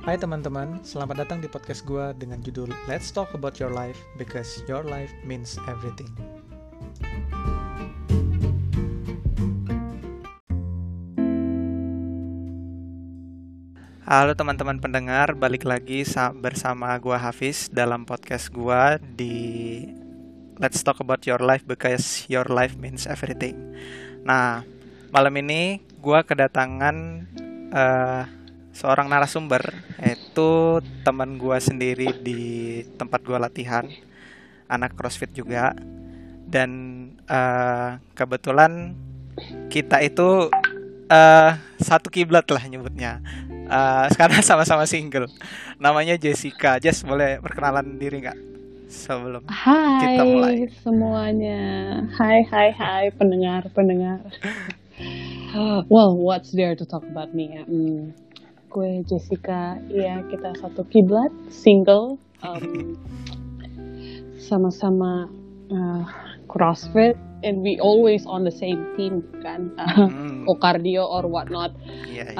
Hai teman-teman, selamat datang di podcast gue dengan judul Let's Talk About Your Life Because Your Life Means Everything. Halo teman-teman pendengar, balik lagi bersama gue Hafiz dalam podcast gue di Let's Talk About Your Life Because Your Life Means Everything. Nah, malam ini gue kedatangan seorang narasumber, yaitu teman gue sendiri di tempat gue latihan, anak CrossFit juga. Dan kebetulan kita itu satu kiblat lah nyebutnya. Sekarang sama-sama single. Namanya Jessica. Jess, boleh perkenalan diri nggak sebelum kita mulai? Hai semuanya. Hai pendengar. Well, what's there to talk about me ya? Gue Jessica, ya kita satu kiblat, single, sama-sama CrossFit, and we always on the same team kan, or cardio or whatnot. Yeah.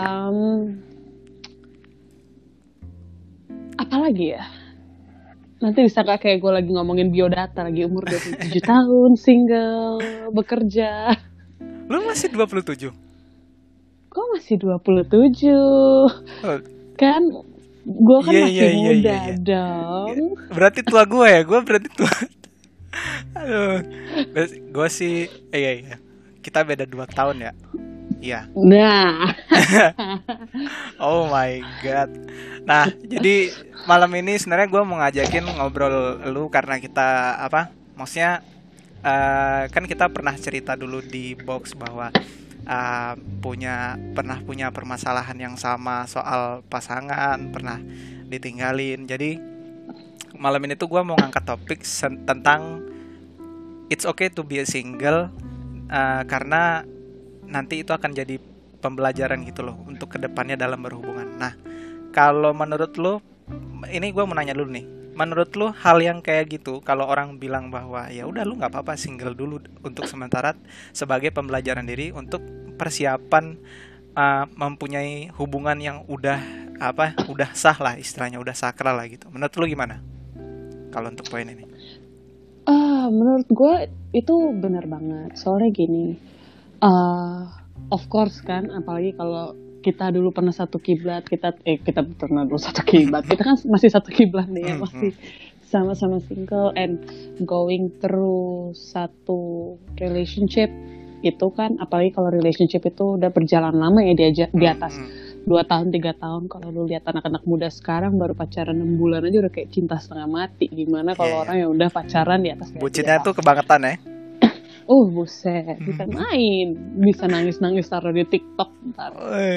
Apalagi ya? Nanti disangka kayak gue lagi ngomongin biodata, lagi umur 27 tahun, single, bekerja. Lu masih 27? Gue masih 27. Kan gue kan masih muda dong. Berarti tua gue ya? Gue berarti tua. Aduh. Gue sih iya. Kita beda 2 tahun ya? Iya. Nah. Oh my god. Nah, jadi malam ini sebenarnya gue mau ngajakin ngobrol lu karena kita maksudnya kan kita pernah cerita dulu di box bahwa pernah punya permasalahan yang sama soal pasangan, pernah ditinggalin. Jadi malam ini tuh gue mau ngangkat topik tentang it's okay to be a single, karena nanti itu akan jadi pembelajaran gitu loh untuk kedepannya dalam berhubungan. Nah, kalau menurut lo, ini gue mau nanya dulu nih, menurut lo hal yang kayak gitu, kalau orang bilang bahwa ya udah lu nggak apa-apa single dulu untuk sementara sebagai pembelajaran diri untuk persiapan mempunyai hubungan yang udah sah lah istilahnya, udah sakral lah gitu. Menurut lo gimana kalau untuk poin ini? Menurut gue itu benar banget. Soalnya gini, of course kan, apalagi kalau kita dulu pernah satu kiblat, kita pernah dulu satu kiblat, kita kan masih satu kiblat nih ya, masih sama-sama single and going through satu relationship itu kan, apalagi kalau relationship itu udah berjalan lama ya, di atas 2 tahun 3 tahun. Kalau lu lihat anak-anak muda sekarang baru pacaran 6 bulan aja udah kayak cinta setengah mati. Gimana kalau orang yang udah pacaran di atas bucinnya tuh kebangetan ya. Buset, bisa main, bisa nangis-nangis taruh di TikTok ntar.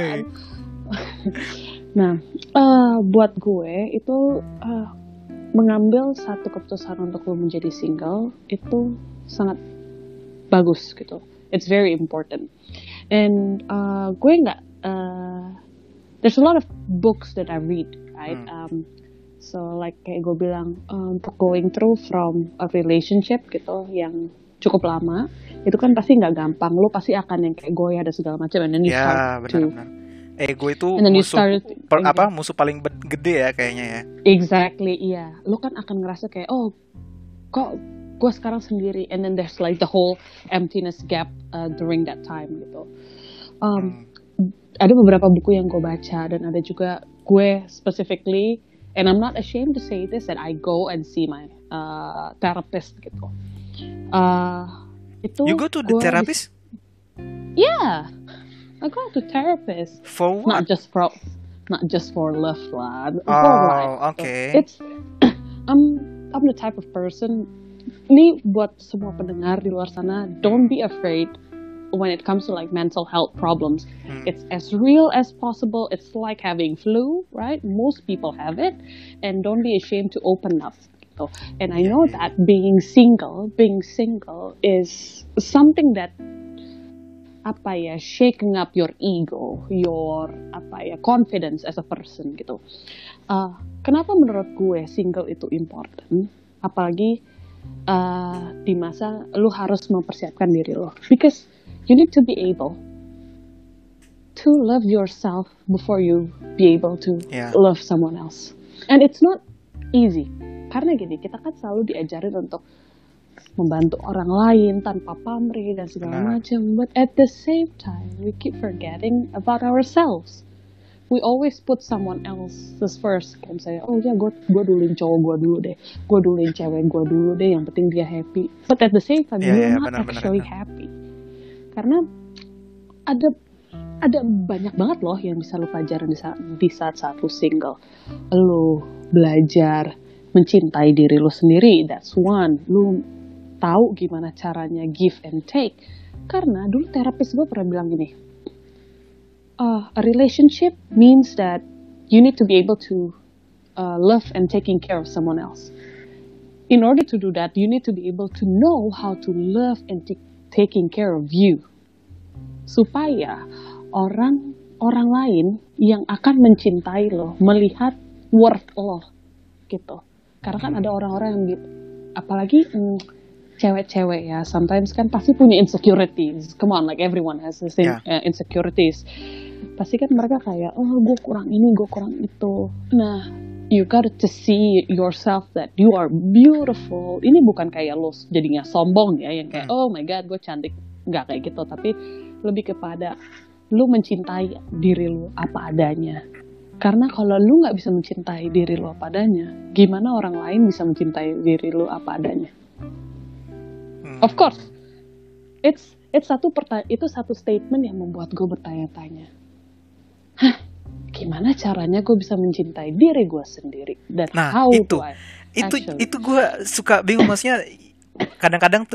Nah, buat gue itu mengambil satu keputusan untuk lo menjadi single itu sangat bagus gitu. It's very important. And gue there's a lot of books that I read, right? So like kayak gue bilang, untuk going through from a relationship gitu yang cukup lama, itu kan pasti nggak gampang. Lo pasti akan yang kayak goyah dan segala macam. And then you start benar. Ego itu musuh paling gede ya kayaknya ya. Exactly, iya. Lo kan akan ngerasa kayak, kok gue sekarang sendiri. And then there's like the whole emptiness gap during that time gitu. Ada beberapa buku yang gue baca, dan ada juga gue specifically, and I'm not ashamed to say this, that I go and see my therapist gitu. You go to the therapist? Yeah, I go to therapist. For what? Not just for love lah. For life. Okay. I'm the type of person. Ini buat semua pendengar di luar sana, don't be afraid when it comes to like mental health problems. It's as real as possible. It's like having flu, right? Most people have it, and don't be ashamed to open up. And I know that being single is something that shaking up your ego, your confidence as a person gitu. Kenapa menurut gue single itu important? Apalagi di masa lu harus mempersiapkan diri lo, because you need to be able to love yourself before you be able to love someone else. And it's not easy. Karena gini, kita kan selalu diajarin untuk membantu orang lain tanpa pamrih dan segala macam. But at the same time, we keep forgetting about ourselves. We always put someone else first. Kayak misalnya, oh ya gue duluin cowok gue dulu deh, gue duluin cewek gue dulu deh, yang penting dia happy. But at the same time, you're not actually happy. Karena ada banyak banget loh yang bisa lo pelajarin di saat lo single. Lo belajar mencintai diri lo sendiri, that's one. Lo tahu gimana caranya give and take. Karena dulu terapis gue pernah bilang gini, a relationship means that you need to be able to love and taking care of someone else. In order to do that, you need to be able to know how to love and taking care of you. Supaya orang lain yang akan mencintai lo, melihat worth lo, gitu. Karena kan ada orang-orang yang gitu, apalagi cewek-cewek ya, sometimes kan pasti punya insecurities. Come on, like everyone has the same insecurities. Pasti kan mereka kayak, oh gue kurang ini, gue kurang itu. Nah, you got to see yourself that you are beautiful. Ini bukan kayak lo jadinya sombong ya, yang kayak, oh my god gue cantik. Nggak kayak gitu, tapi lebih kepada lu mencintai diri lu apa adanya. Karena kalau lu nggak bisa mencintai diri lu apa adanya, gimana orang lain bisa mencintai diri lu apa adanya? Of course, itu satu statement yang membuat gue bertanya-tanya. Gimana caranya gue bisa mencintai diri gue sendiri? Dan itu gue suka bingung, maksudnya kadang-kadang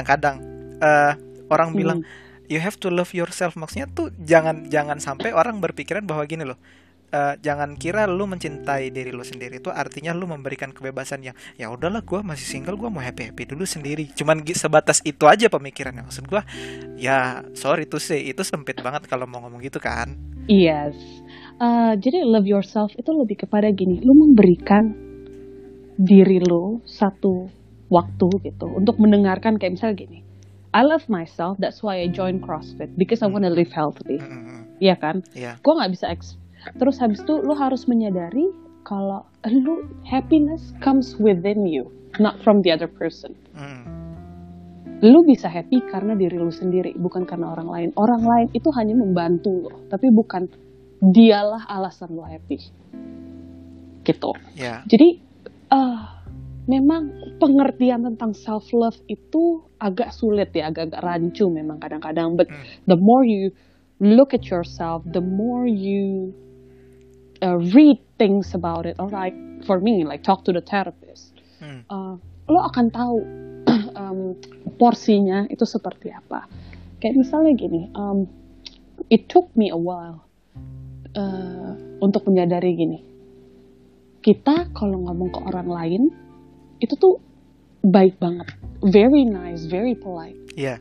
orang bilang you have to love yourself, maksudnya tuh jangan sampai orang berpikiran bahwa gini loh, jangan kira lu mencintai diri lu sendiri itu artinya lu memberikan kebebasan yang ya udahlah gue masih single, gue mau happy dulu sendiri, cuman sebatas itu aja pemikirannya. Maksud gue ya sorry to say, itu sempit banget kalau mau ngomong gitu kan. Yes, jadi love yourself itu lebih kepada gini, lu memberikan diri lu satu waktu gitu untuk mendengarkan, kayak misalnya gini, I love myself, that's why I join CrossFit because I want to live healthy. Iya kan? Gue nggak bisa terus habis itu lu harus menyadari kalau lu happiness comes within you, not from the other person. Lu bisa happy karena diri lu sendiri, bukan karena orang lain. Orang lain itu hanya membantu lu, tapi bukan dialah alasan lu happy. Gitu. Jadi memang pengertian tentang self love itu agak sulit ya, agak rancu memang kadang-kadang. But the more you look at yourself, the more you read things about it, or like for me, like talk to the therapist, lo akan tahu porsinya itu seperti apa. Kayak misalnya gini, it took me a while untuk menyadari gini, kita kalau ngomong ke orang lain itu tuh baik banget, very nice, very polite.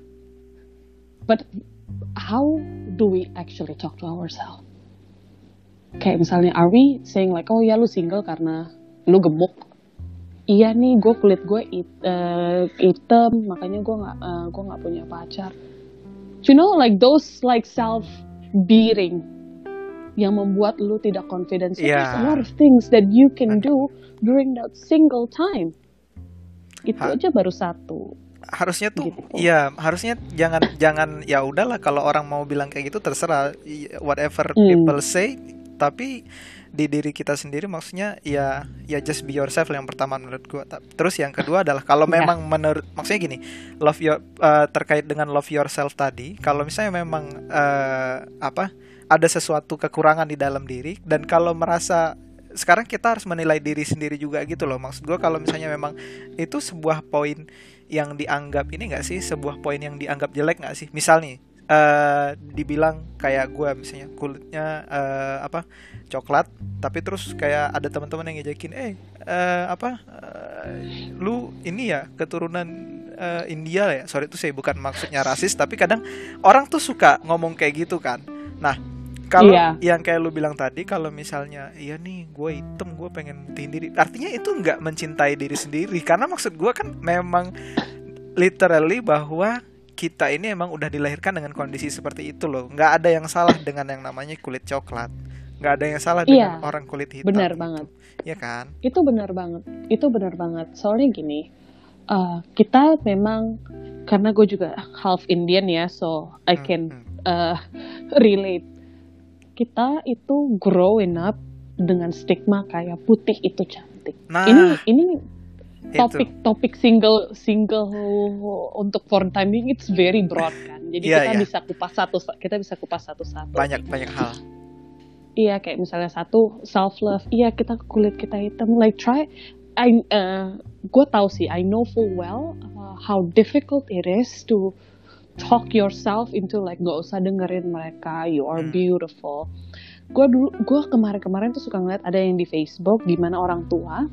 But how do we actually talk to ourselves? Kayak misalnya, are we saying like, oh ya lu single karena lu gemuk? Iya nih, gue kulit gue hitam, makanya gue nggak punya pacar. You know, like those like self beating yang membuat lu tidak confident. So there's a lot of things that you can do during that single time. Itu aja baru satu. Harusnya tuh gitu. Harusnya jangan ya udahlah, kalau orang mau bilang kayak gitu terserah, whatever people say, tapi di diri kita sendiri maksudnya ya just be yourself yang pertama menurut gua. Terus yang kedua adalah kalau memang menurut, maksudnya gini, terkait dengan love yourself tadi, kalau misalnya memang ada sesuatu kekurangan di dalam diri, dan kalau merasa sekarang kita harus menilai diri sendiri juga gitu loh. Maksud gue kalau misalnya memang itu sebuah poin yang dianggap ini nggak sih, sebuah poin yang dianggap jelek nggak sih? Misal nih dibilang kayak gue misalnya kulitnya coklat, tapi terus kayak ada teman-teman yang ngejekin lu ini ya keturunan India ya. Sorry itu saya bukan maksudnya rasis, tapi kadang orang tuh suka ngomong kayak gitu kan. Nah, kalau yang kayak lu bilang tadi, kalau misalnya iya nih gue hitam, gue pengen mutihin diri, artinya itu nggak mencintai diri sendiri. Karena maksud gue kan memang literally bahwa kita ini emang udah dilahirkan dengan kondisi seperti itu loh. Nggak ada yang salah dengan yang namanya kulit coklat. Nggak ada yang salah dengan Iya, orang kulit hitam benar gitu. banget. Ya kan? Itu benar banget. Itu benar banget. Soalnya gini, kita memang, karena gue juga half Indian ya, so I can relate. Kita itu growing up dengan stigma kayak putih itu cantik. Nah, Ini itu. topik single untuk for time being, it's very broad kan. Jadi Iya, kita iya. bisa kupas satu-satu. Banyak hal. Iya, kayak misalnya satu, self love. Iya, kulit kita hitam. Like try, gue tahu sih, I know full well how difficult it is to talk yourself into like gak usah dengerin mereka, you are beautiful. Gue kemarin tuh suka ngeliat ada yang di Facebook gimana orang tua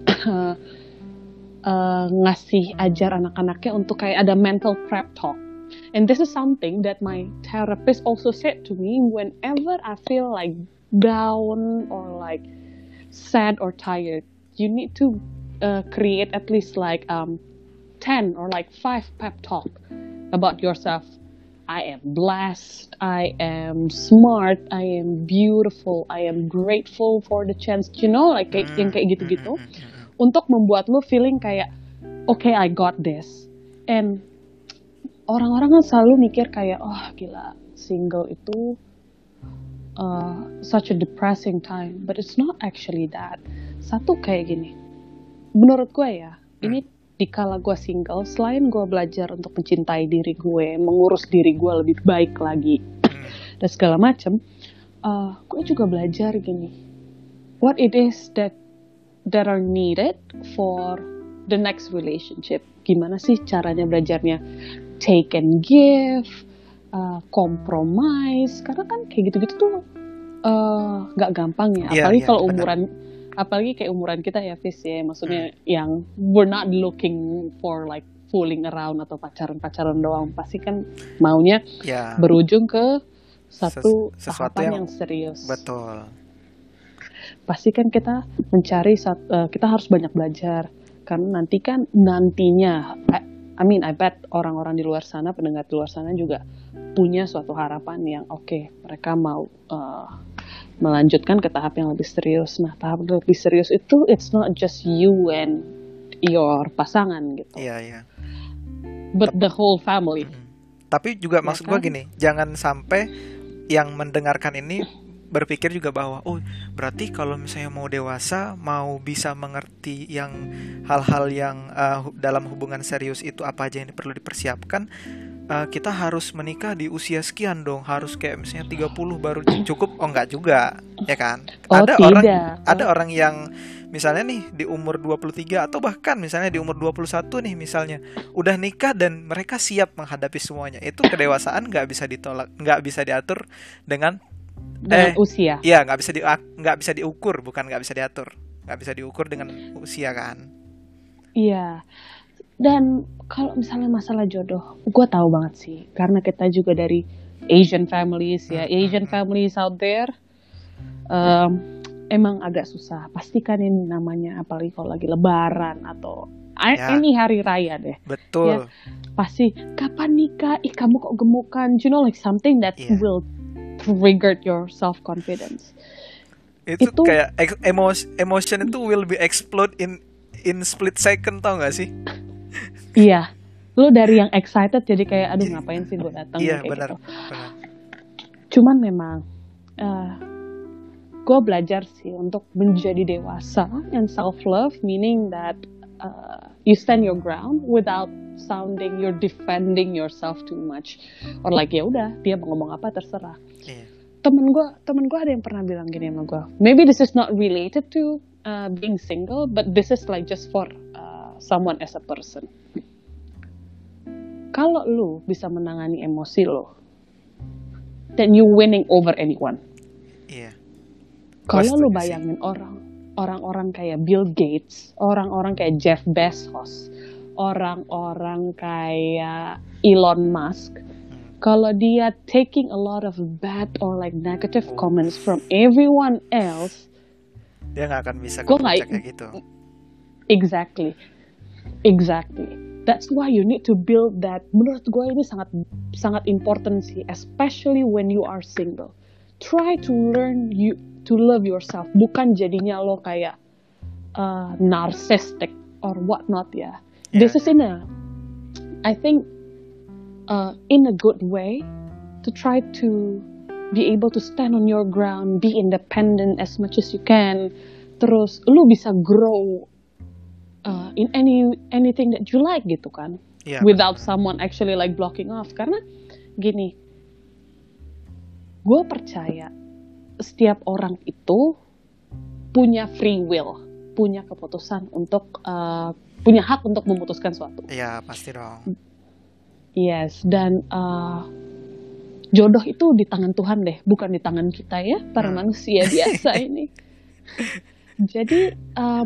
ngasih ajar anak-anaknya untuk kayak ada mental prep talk. And this is something that my therapist also said to me whenever I feel like down or like sad or tired. You need to create at least like 10 or like 5 pep talk about yourself. I am blessed, I am smart, I am beautiful, I am grateful for the chance, you know, like yang kayak gitu-gitu. Untuk membuat lo feeling kayak, okay, I got this. And orang-orang kan selalu mikir kayak, oh gila, single itu such a depressing time. But it's not actually that. Satu kayak gini, menurut gue ya, ini dikala gue single, selain gue belajar untuk mencintai diri gue, mengurus diri gue lebih baik lagi, dan segala macem, gue juga belajar gini, what it is that are needed for the next relationship. Gimana sih caranya belajarnya? Take and give, compromise, karena kan kayak gitu-gitu tuh gak gampang ya. Apalagi kalau apalagi kayak umuran kita ya, Fis ya, maksudnya yang we're not looking for like fooling around atau pacaran doang, pasti kan maunya berujung ke sesuatu tahapan yang serius. Betul. Pasti kan kita mencari, kita harus banyak belajar, karena nantinya I bet orang-orang di luar sana, pendengar di luar sana juga punya suatu harapan yang oke, mereka mau melanjutkan ke tahap yang lebih serius. Nah, tahap lebih serius itu it's not just you and your pasangan gitu. Iya. But the whole family. Tapi juga Ya maksud kan? gue gini, jangan sampai yang mendengarkan ini berpikir juga bahwa oh berarti kalau misalnya mau dewasa, mau bisa mengerti yang hal-hal yang dalam hubungan serius itu apa aja yang perlu dipersiapkan, kita harus menikah di usia sekian dong, harus kayak misalnya 30 baru cukup. Oh enggak juga, ya kan? Ada orang yang misalnya nih di umur 23 atau bahkan misalnya di umur 21 nih misalnya udah nikah dan mereka siap menghadapi semuanya. Itu kedewasaan nggak bisa ditolak, nggak bisa diatur dengan usia. Iya, nggak bisa diukur, bukan nggak bisa diatur, nggak bisa diukur dengan usia kan? Iya. Dan kalau misalnya masalah jodoh, gue tahu banget sih, karena kita juga dari Asian families ya, Asian families out there, emang agak susah. Pastikan ini namanya, apalagi kalau lagi Lebaran atau any hari raya deh. Betul. Ya, pasti kapan nikah? Ih, kamu kok gemukan? You know, like something that will trigger your self confidence. Itu kayak emotion itu will be explode in split second, tau gak sih? Iya, lo dari yang excited jadi kayak aduh ngapain sih gue datang, iya, kayak benar. gitu. Cuman memang gue belajar sih untuk menjadi dewasa and self love, meaning that you stand your ground without sounding you're defending yourself too much, or like ya udah dia mau ngomong apa terserah. Iya. Temen gue ada yang pernah bilang gini sama gue, maybe this is not related to being single, but this is like just for someone as a person. Kalau lu bisa menangani emosi lo, then you winning over anyone. Iya. Kalau lu bayangin orang-orang kayak Bill Gates, orang-orang kayak Jeff Bezos, orang-orang kayak Elon Musk, kalau dia taking a lot of bad or like negative comments from everyone else, dia nggak akan bisa ke puncak kayak gitu. Exactly. That's why you need to build that. Menurut gue ini sangat sangat important sih, especially when you are single. Try to learn you to love yourself. Bukan jadinya lo kayak narcissistic or whatnot ya. Yeah. This is I think in a good way to try to be able to stand on your ground, be independent as much as you can. Terus lu bisa grow in anything that you like gitu kan, Iya, without someone actually like blocking off. Karena gini, gue percaya setiap orang itu punya free will, punya keputusan untuk punya hak untuk memutuskan suatu. iya pasti dong. Yes, dan jodoh itu di tangan Tuhan deh, bukan di tangan kita ya, para manusia biasa ini. Jadi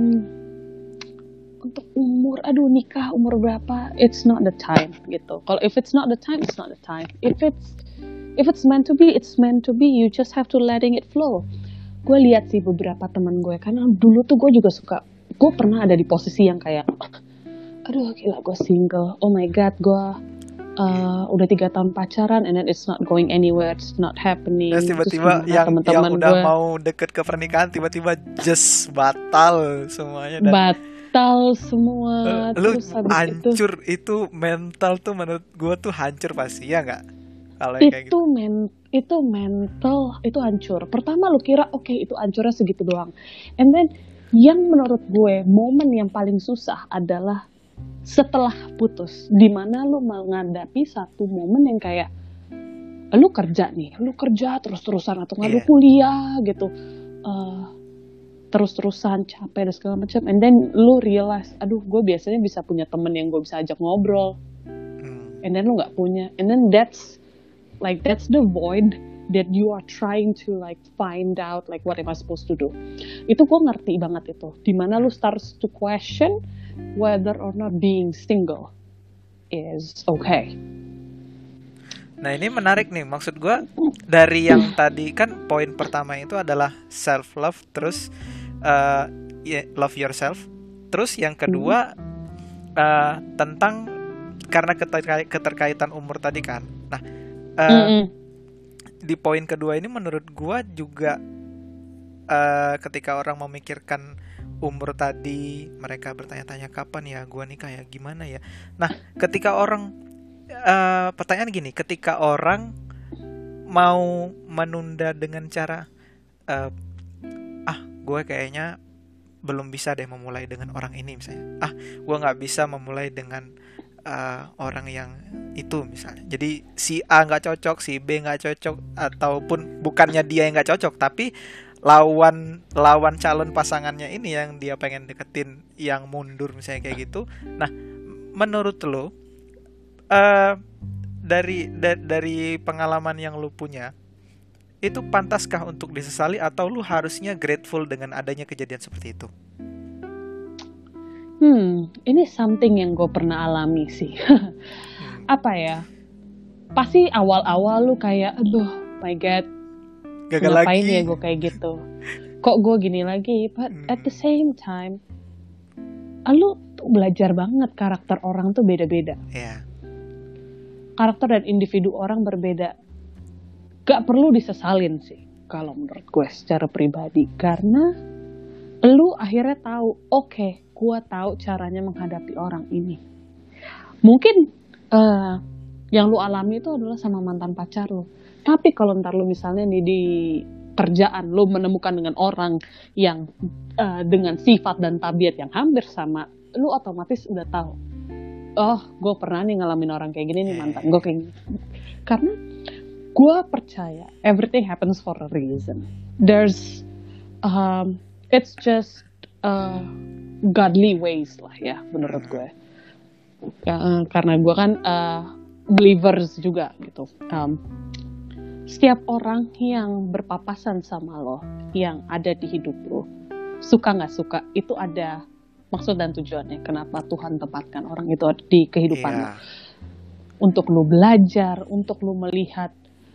untuk nikah umur berapa, it's not the time gitu. Kalau if it's not the time, it's not the time. If it's meant to be, it's meant to be. You just have to letting it flow. Gue lihat sih beberapa teman gue, karena dulu tuh gue juga suka, gue pernah ada di posisi yang kayak, aduh gila gue single, oh my god gue udah 3 tahun pacaran and then it's not going anywhere, it's not happening. Terus tiba-tiba yang udah gue mau deket ke pernikahan tiba-tiba just batal semuanya dan batal semua. lu Terus habis hancur itu mental tuh menurut gue tuh hancur pasti ya nggak? Kalau kayak gitu. itu mental itu hancur. Pertama lu kira oke, itu hancurnya segitu doang, and then yang menurut gue momen yang paling susah adalah setelah putus, dimana lu menghadapi satu momen yang kayak lu kerja terus-terusan atau nggak lu kuliah gitu, terus-terusan capek dan segala macam, and then lu realize, aduh gue biasanya bisa punya temen yang gue bisa ajak ngobrol, and then lu nggak punya, and then that's the void that you are trying to like find out like what am I supposed to do. Itu gue ngerti banget itu, dimana lu starts to question whether or not being single is okay. Nah ini menarik nih, maksud gue dari yang tadi kan poin pertama itu adalah self love, terus love yourself, terus yang kedua tentang karena keterkaitan umur tadi kan. Nah di poin kedua ini menurut gue juga ketika orang memikirkan umur tadi, mereka bertanya-tanya kapan ya gue nikah ya, gimana ya. Nah ketika orang pertanyaan gini, ketika orang mau menunda dengan cara gue kayaknya belum bisa deh memulai dengan orang ini misalnya, gue nggak bisa memulai dengan orang yang itu misalnya, jadi si A nggak cocok, si B nggak cocok, ataupun bukannya dia yang nggak cocok tapi lawan calon pasangannya ini yang dia pengen deketin yang mundur misalnya kayak gitu. Nah menurut lo dari pengalaman yang lo punya itu pantaskah untuk disesali atau lo harusnya grateful dengan adanya kejadian seperti itu? Ini something yang gue pernah alami sih. Apa ya, pasti awal-awal lu kayak aduh my god, gagal ngapain lagi ya gue kayak gitu, kok gue gini lagi. But at the same time lu tuh belajar banget karakter orang tuh beda-beda. Karakter dan individu orang berbeda. Gak perlu disesalin sih kalau menurut gue secara pribadi, karena lu akhirnya tahu, oke, gue tahu caranya menghadapi orang ini. Mungkin yang lu alami itu adalah sama mantan pacar lu, tapi kalau ntar lu misalnya nih di kerjaan lu menemukan dengan orang yang dengan sifat dan tabiat yang hampir sama, lu otomatis udah tahu, oh gue pernah nih ngalamin orang kayak gini nih, mantan gue kayak gini. Karena gue percaya everything happens for a reason. There's it's just godly ways lah ya menurut gue. Karena gue kan believers juga gitu. Setiap orang yang berpapasan sama lo, yang ada di hidup lo, suka nggak suka, itu ada maksud dan tujuannya. Kenapa Tuhan tempatkan orang itu di kehidupan lo? Untuk lo belajar, untuk lo melihat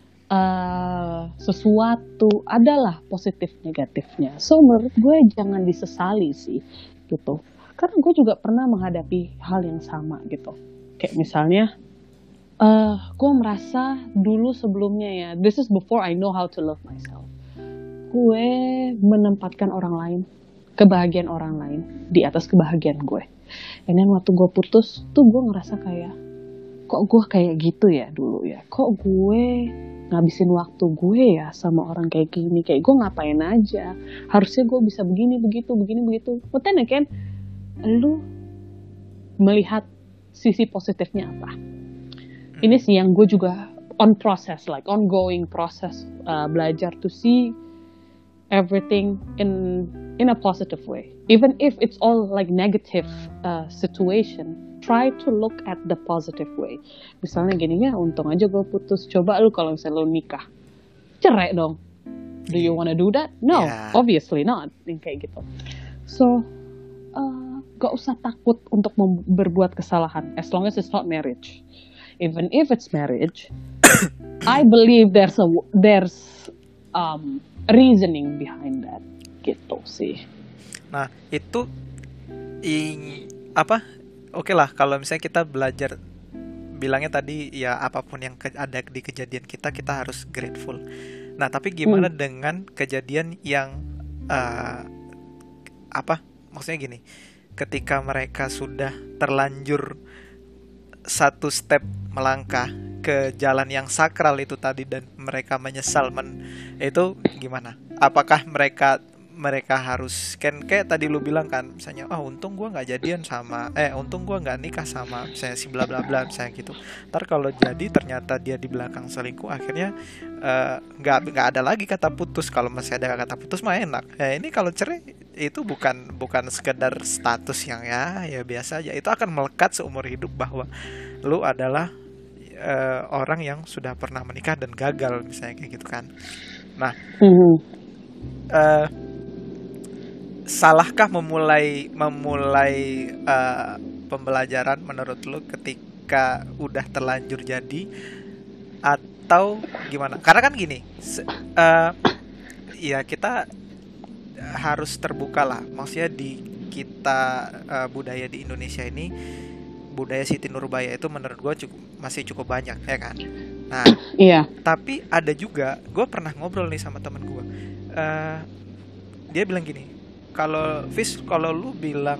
sesuatu, adalah positif negatifnya. So menurut gue jangan disesali sih gitu. karena gue juga pernah menghadapi hal yang sama gitu. Kayak misalnya, gue merasa dulu sebelumnya ya, this is before I know how to love myself. Gue menempatkan orang lain, kebahagiaan orang lain di atas kebahagiaan gue. And then waktu gue putus tuh gue ngerasa kayak, kok gue kayak gitu ya dulu ya? Kok gue ngabisin waktu gue ya sama orang kayak gini? Kayak gue ngapain aja? Harusnya gue bisa begini, begitu. But then again, lu melihat sisi positifnya apa? Ini sih yang gue juga ongoing process, belajar to see everything in a positive way. Even if it's all like negative situation, try to look at the positive way. Misalnya gini ya, untung aja gue putus. Coba lu kalau misalnya lu nikah, cerai dong. Do you wanna do that? No, obviously not. Kayak gitu. So, gak usah takut untuk berbuat kesalahan, as long as it's not marriage. Even if it's marriage, I believe there's reasoning behind that, gitu sih. Nah itu Oke lah kalau misalnya kita belajar, bilangnya tadi ya apapun yang ada di kejadian kita harus grateful. Nah tapi gimana dengan kejadian yang maksudnya gini, ketika mereka sudah terlanjur satu step melangkah ke jalan yang sakral itu tadi dan mereka menyesal, itu gimana? Apakah mereka harus kayak tadi lu bilang kan, misalnya untung gue nggak jadian sama untung gue nggak nikah sama misalnya si bla bla bla misalnya gitu. Ntar kalau jadi ternyata dia di belakang selingkuh, akhirnya nggak ada lagi kata putus. Kalau masih ada kata putus mah enak. Ini kalau cerai itu bukan sekedar status yang ya biasa aja, itu akan melekat seumur hidup bahwa lu adalah orang yang sudah pernah menikah dan gagal misalnya kayak gitu kan. Nah salahkah memulai pembelajaran menurut lu ketika udah terlanjur jadi, atau gimana? Karena kan gini, ya kita harus terbuka lah. Maksudnya di kita budaya di Indonesia ini, budaya Siti Nurbaya itu menurut gue masih cukup banyak ya kan. Nah, tapi ada juga, gue pernah ngobrol nih sama temen gue, dia bilang gini, kalau lu bilang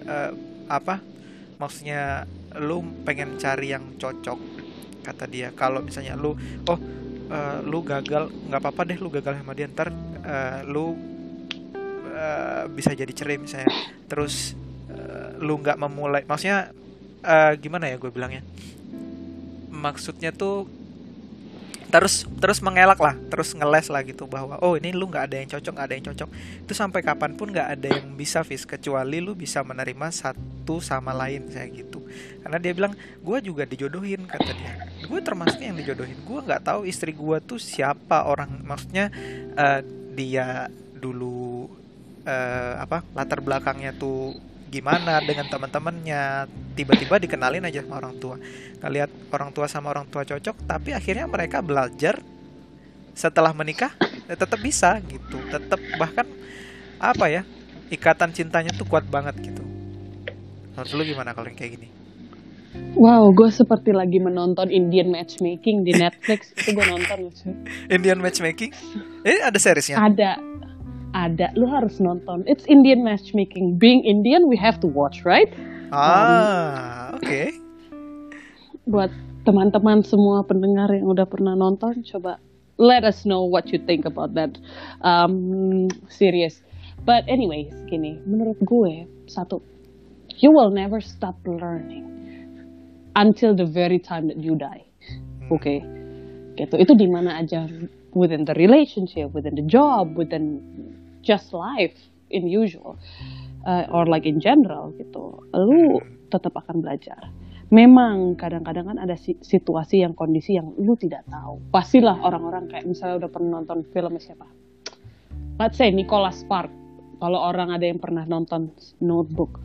maksudnya lu pengen cari yang cocok, kata dia, kalau misalnya lu lu gagal, nggak apa-apa deh lu gagal sama dia, ntar lu bisa jadi cerai misalnya, terus lu nggak memulai, maksudnya gimana ya gue bilangnya, maksudnya tuh terus mengelak lah, terus ngeles lah gitu, bahwa ini lu nggak ada yang cocok, itu sampai kapanpun nggak ada yang bisa kecuali lu bisa menerima satu sama lain saya gitu. Karena dia bilang, gue juga dijodohin, kata dia, gue termasuk yang dijodohin, gue nggak tahu istri gue tuh siapa orang, maksudnya dia dulu latar belakangnya tuh gimana dengan teman-temannya, tiba-tiba dikenalin aja sama orang tua, ngelihat orang tua sama orang tua cocok, tapi akhirnya mereka belajar setelah menikah tetap bisa gitu, tetap bahkan ikatan cintanya tuh kuat banget gitu. Menurut lu gimana kalau yang kayak gini? Wow, gue seperti lagi menonton Indian Matchmaking di Netflix. Itu gue nonton. Indian Matchmaking? Ada seriesnya? Ada, lu harus nonton. It's Indian Matchmaking. Being Indian, we have to watch, right? Oke. Buat teman-teman semua pendengar yang udah pernah nonton, coba let us know what you think about that series. But anyways, gini, menurut gue, satu, you will never stop learning until the very time that you die. Okay? Gitu. Itu di mana aja, within the relationship, within the job, within just life in usual, or like in general gitu, lu tetap akan belajar. Memang kadang-kadang kan ada situasi yang kondisi yang lu tidak tahu. Pastilah orang-orang kayak misalnya udah pernah nonton film siapa, let's say Nicholas Sparks. Kalau orang ada yang pernah nonton Notebook,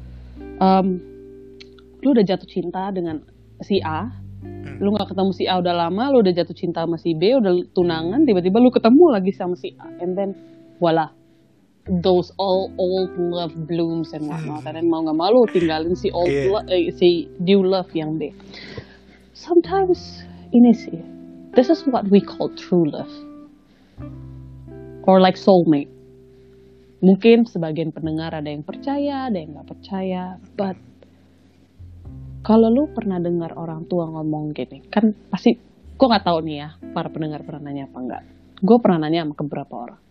lu udah jatuh cinta dengan si A, lu nggak ketemu si A udah lama, lu udah jatuh cinta sama si B, udah tunangan, tiba-tiba lu ketemu lagi sama si A, and then voila, those all old love blooms and whatnot, dan mau nggak mau lu tinggalin si si new love yang B. Sometimes ini sih, this is what we call true love or like soulmate. Mungkin sebagian pendengar ada yang percaya, ada yang nggak percaya, but kalau lu pernah dengar orang tua ngomong gini, kan pasti, gue nggak tahu nih ya, para pendengar pernah nanya apa enggak. Gue pernah nanya sama beberapa orang.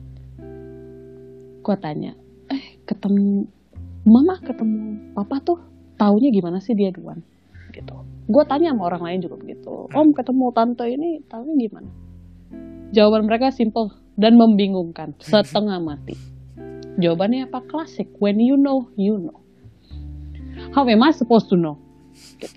Gue tanya, mama ketemu papa tuh taunya gimana sih dia duluan? Gitu. Gue tanya sama orang lain juga begitu. Om ketemu tante ini taunya gimana? Jawaban mereka simple dan membingungkan, setengah mati. Jawabannya apa? Klasik. When you know, you know. How am I supposed to know? Gitu.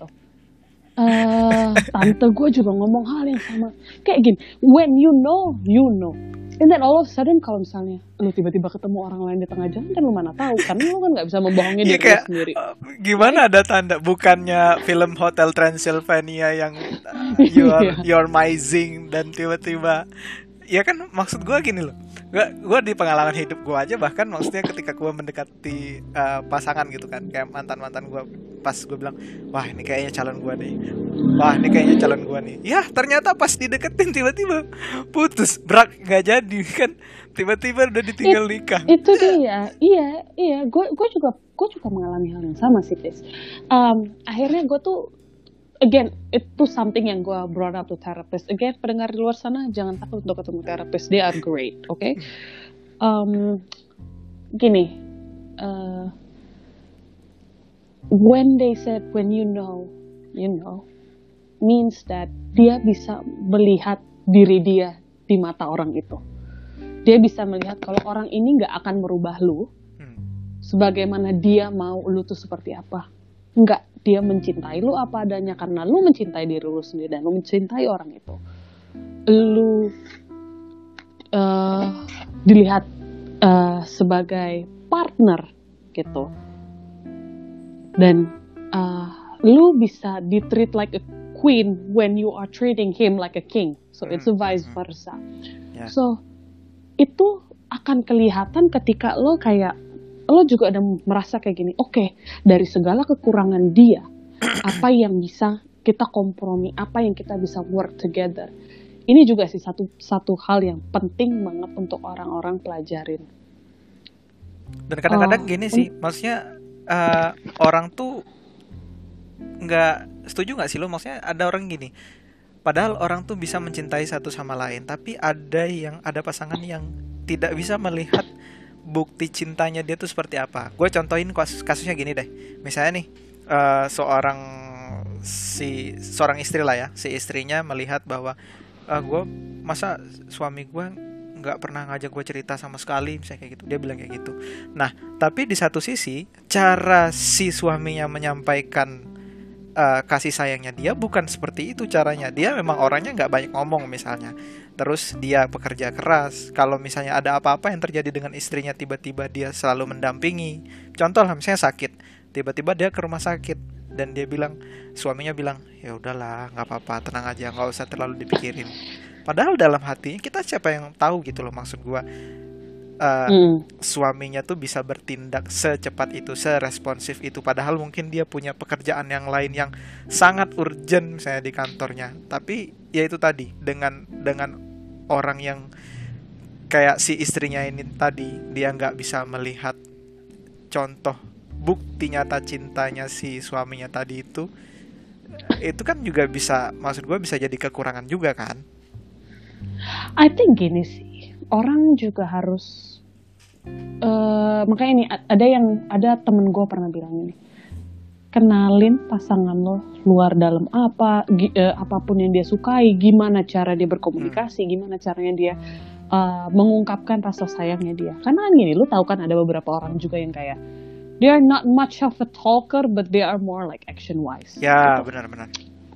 Tante gue juga ngomong hal yang sama. Kayak gini, when you know, you know. And then all of a sudden kalau misalnya lu tiba-tiba ketemu orang lain di tengah jalan, kan lu mana tahu, karena lu kan nggak bisa membohongi diri lu sendiri. Gimana ada tanda? Bukannya film Hotel Transylvania yang you're amazing dan tiba-tiba, ya kan maksud gue gini loh. Gue di pengalaman hidup gue aja, bahkan maksudnya ketika gue mendekati pasangan gitu kan, kayak mantan gue, pas gue bilang, wah ini kayaknya calon gue nih, wah ini kayaknya calon gue nih, ya ternyata pas dideketin tiba-tiba putus, brak, nggak jadi kan, tiba-tiba udah ditinggal nikah. Itu dia, iya, gue juga mengalami hal yang sama sih, Tis. Akhirnya gue tuh, again, itu something yang gue brought up to therapist. Again, pendengar di luar sana, jangan takut untuk ketemu therapist. They are great, okay? Gini, when they said, when you know, means that dia bisa melihat diri dia di mata orang itu. Dia bisa melihat kalau orang ini gak akan merubah lu, sebagaimana dia mau lu tuh seperti apa. Enggak. Dia mencintai lu apa adanya karena lu mencintai diri lu sendiri dan lu mencintai orang itu. Lu dilihat sebagai partner gitu. Dan lu bisa di-treat like a queen when you are treating him like a king. So it's a vice versa. Yeah. So itu akan kelihatan ketika lo juga ada merasa kayak gini, oke, dari segala kekurangan dia, apa yang bisa kita kompromi, apa yang kita bisa work together. Ini juga sih satu hal yang penting banget untuk orang-orang pelajarin. Dan kadang-kadang gini sih, maksudnya orang tuh nggak setuju nggak sih lo? Maksudnya ada orang gini, padahal orang tuh bisa mencintai satu sama lain, tapi ada pasangan yang tidak bisa melihat bukti cintanya dia tuh seperti apa. Gue contohin kasusnya gini deh. Misalnya nih, seorang istri lah ya, si istrinya melihat bahwa masa suami gue nggak pernah ngajak gue cerita sama sekali, misalnya kayak gitu. Dia bilang kayak gitu. Nah, tapi di satu sisi cara si suaminya menyampaikan kasih sayangnya dia bukan seperti itu caranya. Dia memang orangnya nggak banyak ngomong misalnya. Terus dia pekerja keras. Kalau misalnya ada apa-apa yang terjadi dengan istrinya, tiba-tiba dia selalu mendampingi. Contoh lah, misalnya sakit, tiba-tiba dia ke rumah sakit dan suaminya bilang, ya udahlah, nggak apa-apa, tenang aja, nggak usah terlalu dipikirin. Padahal dalam hatinya kita siapa yang tahu gitu loh, maksud gue. Suaminya tuh bisa bertindak secepat itu, seresponsif itu, padahal mungkin dia punya pekerjaan yang lain yang sangat urgent misalnya di kantornya. Tapi ya itu tadi, dengan orang yang kayak si istrinya ini tadi, dia nggak bisa melihat contoh bukti nyata cintanya si suaminya tadi, itu kan juga bisa, maksud gue bisa jadi kekurangan juga kan. I think gini sih, orang juga harus makanya ini ada temen gue pernah bilang ini, kenalin pasangan lo luar dalam apapun yang dia sukai, gimana cara dia berkomunikasi, gimana caranya dia mengungkapkan rasa sayangnya dia. Karena gini, lu tahu kan ada beberapa orang juga yang kayak they are not much of a talker but they are more like action wise. Ya, gitu. Benar-benar.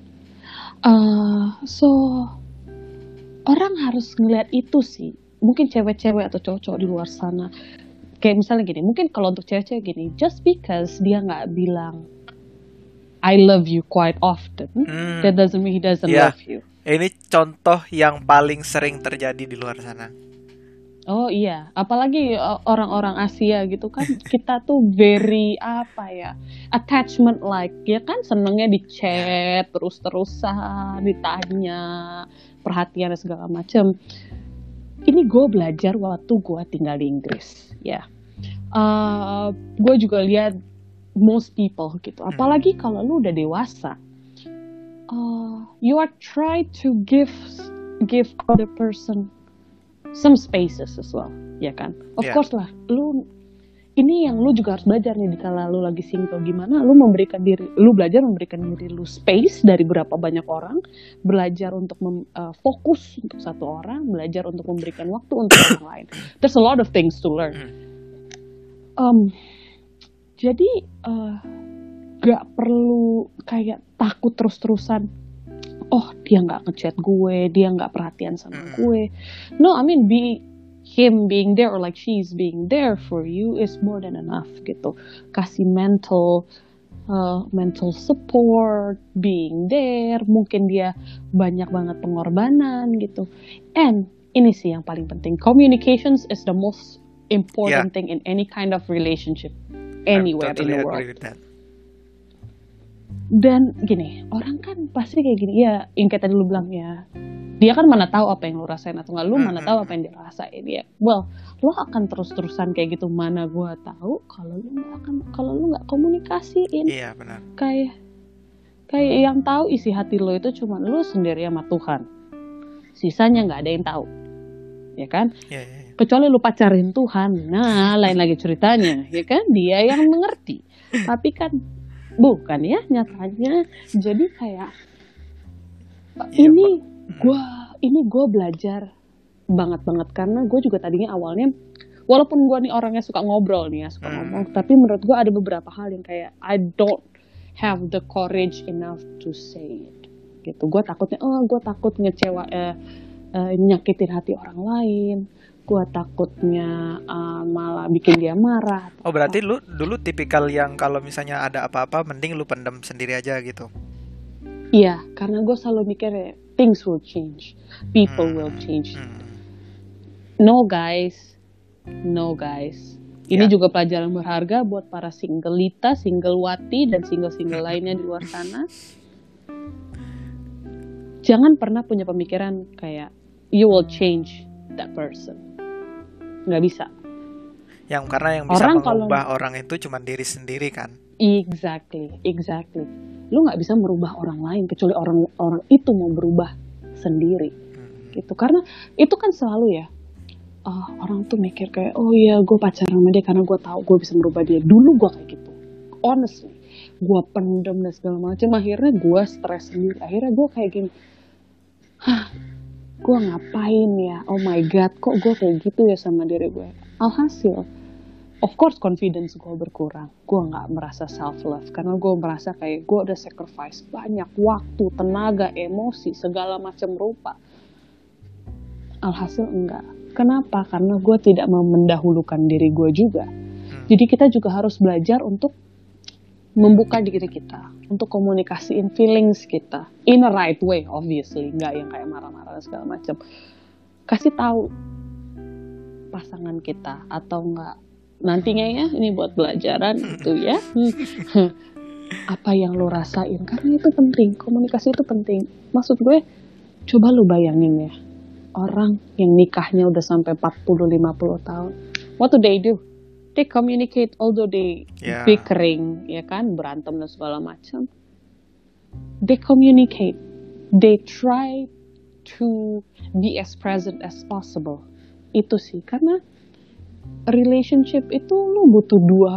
So orang harus ngeliat itu sih. Mungkin cewek-cewek atau cowok-cowok di luar sana, kayak misalnya gini, mungkin kalau untuk cewek-cewek gini, just because dia nggak bilang I love you quite often, that doesn't mean he doesn't love you. Ini contoh yang paling sering terjadi di luar sana. Oh iya, apalagi orang-orang Asia gitu kan, kita tuh very apa ya, attachment like, ya kan senengnya di Ya. chat terus-terusan, ditanya, perhatian dan segala macam. Ini gue belajar waktu gue tinggal di Inggris, ya. Gue juga lihat most people gitu, apalagi kalau lu udah dewasa, you are try to give other person some spaces as well, ya kan? Of Ya. course lah, ini yang lu juga harus belajar nih kalau lu lagi single, gimana lu belajar memberikan diri lu space dari berapa banyak orang, belajar untuk fokus untuk satu orang, belajar untuk memberikan waktu untuk orang lain. There's a lot of things to learn. Jadi gak perlu kayak takut terus-terusan, oh dia nggak ngechat gue, dia nggak perhatian sama gue. No, I mean him being there or like she's being there for you is more than enough gitu. Kasih mental support, being there. Mungkin dia banyak banget pengorbanan gitu. And ini sih yang paling penting, communications is the most important thing in any kind of relationship anywhere in the world. Agree with that. Dan gini, orang kan pasti kayak gini, ya yang kayak tadi lu bilang ya, dia kan mana tahu apa yang lu rasain atau nggak, lu mana tahu apa yang dia rasain ya. Well, lu akan terus-terusan kayak gitu, mana gua tahu kalau lu nggak komunikasiin. Iya, benar. Kayak yang tahu isi hati lu itu cuma lu sendiri sama Tuhan. Sisanya nggak ada yang tahu, ya kan? Iya. Kecuali lu pacarin Tuhan, nah lain lagi ceritanya, ya kan? Dia yang mengerti. Tapi kan bukan ya nyatanya. Jadi kayak ini gue belajar banget karena gue juga tadinya awalnya, walaupun gue nih orangnya suka ngobrol nih ya, suka ngomong, tapi menurut gue ada beberapa hal yang kayak I don't have the courage enough to say it gitu. Gue takut ngecewa, nyakitin hati orang lain. Gue takutnya malah bikin dia marah. Oh, berarti lu dulu tipikal yang kalau misalnya ada apa-apa mending lu pendam sendiri aja gitu. Iya, karena gue selalu mikir things will change, people will change. No guys. Ini juga pelajaran berharga buat para singleta, singlewati, dan single lainnya di luar sana. Jangan pernah punya pemikiran kayak you will change that person. Nggak bisa. Karena yang bisa mengubah orang itu cuma diri sendiri kan. Exactly. Lu nggak bisa merubah orang lain kecuali orang itu mau berubah sendiri. Gitu. Karena itu kan selalu ya, orang tuh mikir kayak, oh iya gue pacaran sama dia karena gue tahu gue bisa merubah dia. Dulu gue kayak gitu, honestly, gue pendem dan segala macam. Akhirnya gue stres sendiri. Akhirnya gue kayak gini, gue ngapain ya? Oh my god, kok gue kayak gitu ya sama diri gue? Alhasil, of course confidence gue berkurang. Gue nggak merasa self love karena gue merasa kayak gue udah sacrifice banyak waktu, tenaga, emosi, segala macam rupa. Alhasil enggak. Kenapa? Karena gue tidak mau mendahulukan diri gue juga. Jadi kita juga harus belajar untuk membuka diri kita, untuk komunikasiin feelings kita in a right way, obviously, nggak yang kayak marah-marah dan segala macam. Kasih tahu pasangan kita atau enggak, nantinya ya, ini buat pelajaran gitu ya. Apa yang lo rasain, karena itu penting, komunikasi itu penting. Maksud gue, coba lo bayangin ya, orang yang nikahnya udah sampai 40-50 tahun, what do? They communicate, although they bickering, ya kan, berantem dan segala macam. They communicate, they try to be as present as possible. Itu sih, karena relationship itu lu butuh dua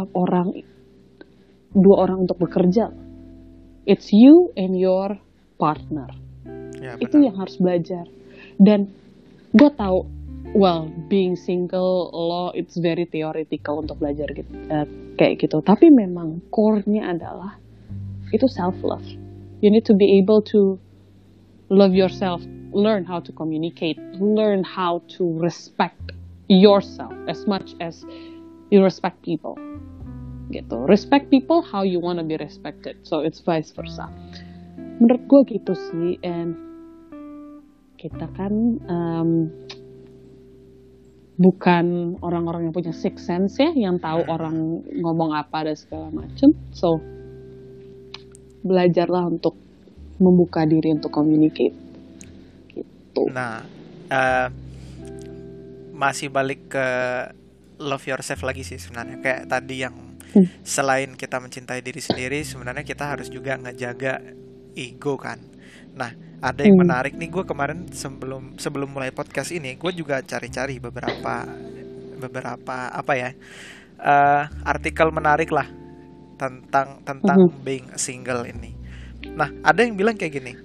orang untuk bekerja. It's you and your partner. Ya, itu yang harus belajar. Dan gue tahu, well, being single lo it's very theoretical untuk belajar gitu, kayak gitu. Tapi memang core-nya adalah itu self love. You need to be able to love yourself, learn how to communicate, learn how to respect yourself as much as you respect people. Gitu. Respect people how you want to be respected. So it's vice versa. Menurut gue gitu sih. And kita kan bukan orang-orang yang punya sixth sense ya, yang tahu orang ngomong apa dan segala macam. So belajarlah untuk membuka diri untuk communicate gitu. Nah, masih balik ke love yourself lagi sih sebenarnya. Kayak tadi yang selain kita mencintai diri sendiri, sebenarnya kita harus juga ngejaga ego kan. Nah, ada yang menarik nih, gue kemarin sebelum mulai podcast ini, gue juga cari-cari beberapa apa ya, artikel menarik lah tentang being single ini. Nah, ada yang bilang kayak gini,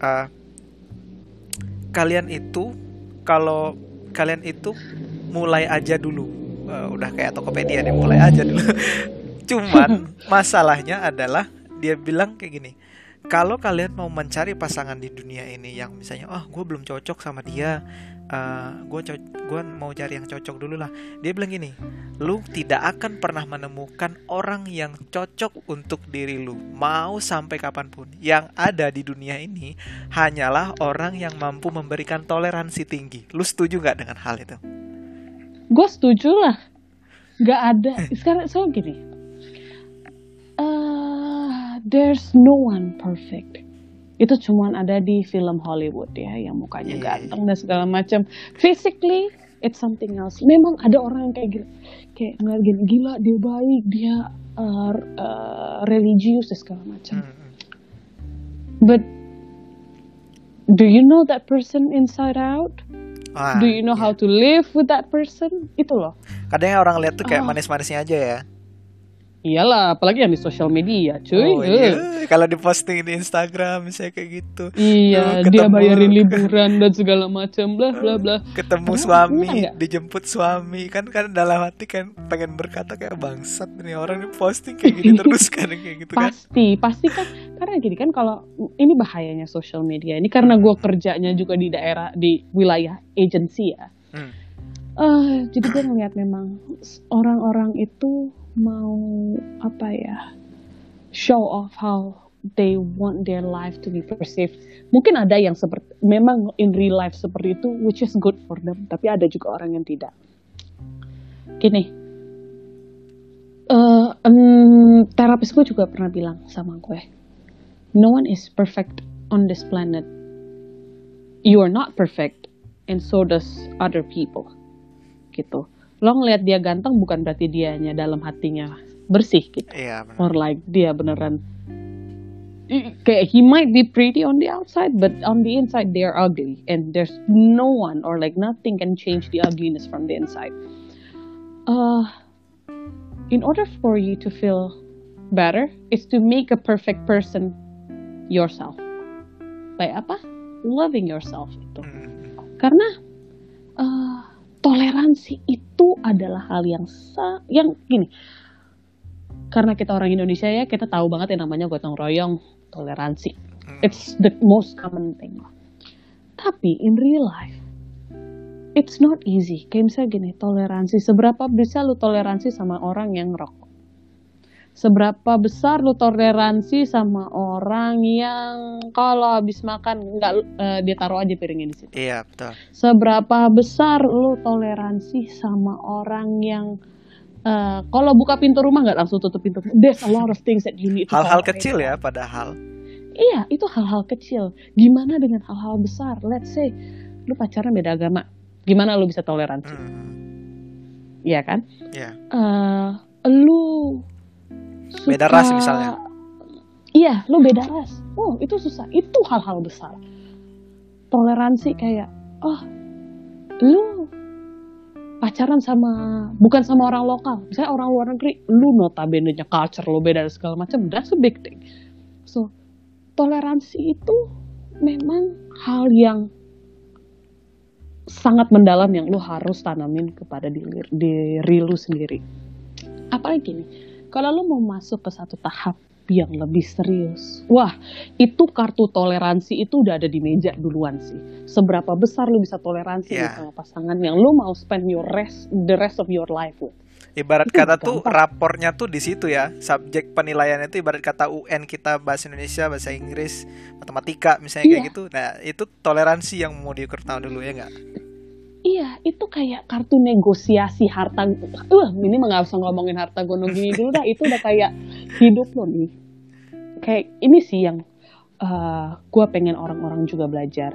kalian itu kalau kalian itu mulai aja dulu, udah kayak Tokopedia deh, mulai aja dulu. Cuman masalahnya adalah dia bilang kayak gini, kalau kalian mau mencari pasangan di dunia ini yang misalnya, gue belum cocok sama dia, gue mau cari yang cocok dulu lah. Dia bilang gini, lu tidak akan pernah menemukan orang yang cocok untuk diri lu, mau sampai kapanpun. Yang ada di dunia ini hanyalah orang yang mampu memberikan toleransi tinggi. Lu setuju gak dengan hal itu? Gue setuju lah. Gak ada. Sekarang so gini, there's no one perfect. Itu cuman ada di film Hollywood ya, yang mukanya ganteng dan segala macam. Physically, it's something else. Memang ada orang yang kayak ngeliat gini, gila dia baik, dia religius dan segala macam. But do you know that person inside out? Do you know how to live with that person? Itu loh. Kadang orang lihat tuh kayak manis-manisnya aja ya. Iyalah, apalagi yang di sosial media, cuy. Kalau diposting di Instagram misalnya kayak gitu. Iya, dia bayarin liburan dan segala macam, bla bla bla. Ketemu suami, dijemput suami, kan dalam hati kan pengen berkata kayak bangsat nih orang ini posting kayak gitu terus kan kayak gitu kan. Pasti kan, karena gini kan, kalau ini bahayanya sosial media ini, karena gue kerjanya juga di wilayah agency ya. Jadi gue ngeliat memang orang-orang itu mau show off how they want their life to be perceived. Mungkin ada yang memang in real life seperti itu, which is good for them, tapi ada juga orang yang tidak. Gini, terapis gue juga pernah bilang sama gue, no one is perfect on this planet. You are not perfect, and so does other people. Gitu. Lo ngeliat dia ganteng bukan berarti dianya dalam hatinya bersih gitu. Iya, benar. Or like dia beneran kayak he might be pretty on the outside, but on the inside they are ugly, and there's no one or like nothing can change the ugliness from the inside. In order for you to feel better, is to make a perfect person yourself. By apa? Loving yourself itu. Karena toleransi itu adalah hal yang gini. Karena kita orang Indonesia ya, kita tahu banget yang namanya gotong royong, toleransi. It's the most common thing. Tapi in real life, it's not easy. Kayak misalnya gini, toleransi. Seberapa bisa lu toleransi sama orang yang ngerokok? Seberapa besar lu toleransi sama orang yang kalau habis makan dia taruh aja piringnya di situ? Iya, betul. Seberapa besar lu toleransi sama orang yang kalau buka pintu rumah nggak langsung tutup pintu? There's a lot of things that you need to hal-hal kecil ya, padahal. Iya, itu hal-hal kecil. Gimana dengan hal-hal besar? Let's say lu pacaran beda agama, gimana lu bisa toleransi? Iya kan? Iya. Lu beda ras misalnya. Iya, lu beda ras. Oh, itu susah. Itu hal-hal besar. Toleransi kayak, lu pacaran bukan sama orang lokal. Misalnya orang luar negeri, lu notabene-nya culture lu beda dan segala macam. That's a big thing. So, toleransi itu memang hal yang sangat mendalam yang lu harus tanamin kepada diri lu sendiri. Apalagi nih, kalau lu mau masuk ke satu tahap yang lebih serius, wah, itu kartu toleransi itu udah ada di meja duluan sih. Seberapa besar lu bisa toleransi sama pasangan yang lu mau spend the rest of your life with. Ibarat itu kata tuh rapornya tuh di situ ya. Subjek penilaiannya itu ibarat kata UN kita, bahasa Indonesia, bahasa Inggris, matematika misalnya kayak gitu. Nah, itu toleransi yang mau diukur tahun dulu ya enggak? Iya, itu kayak kartu negosiasi harta. Ini nggak usah ngomongin harta gunung gini dulu dah. Itu udah kayak hidup lo nih. Kayak ini sih yang gue pengen orang-orang juga belajar.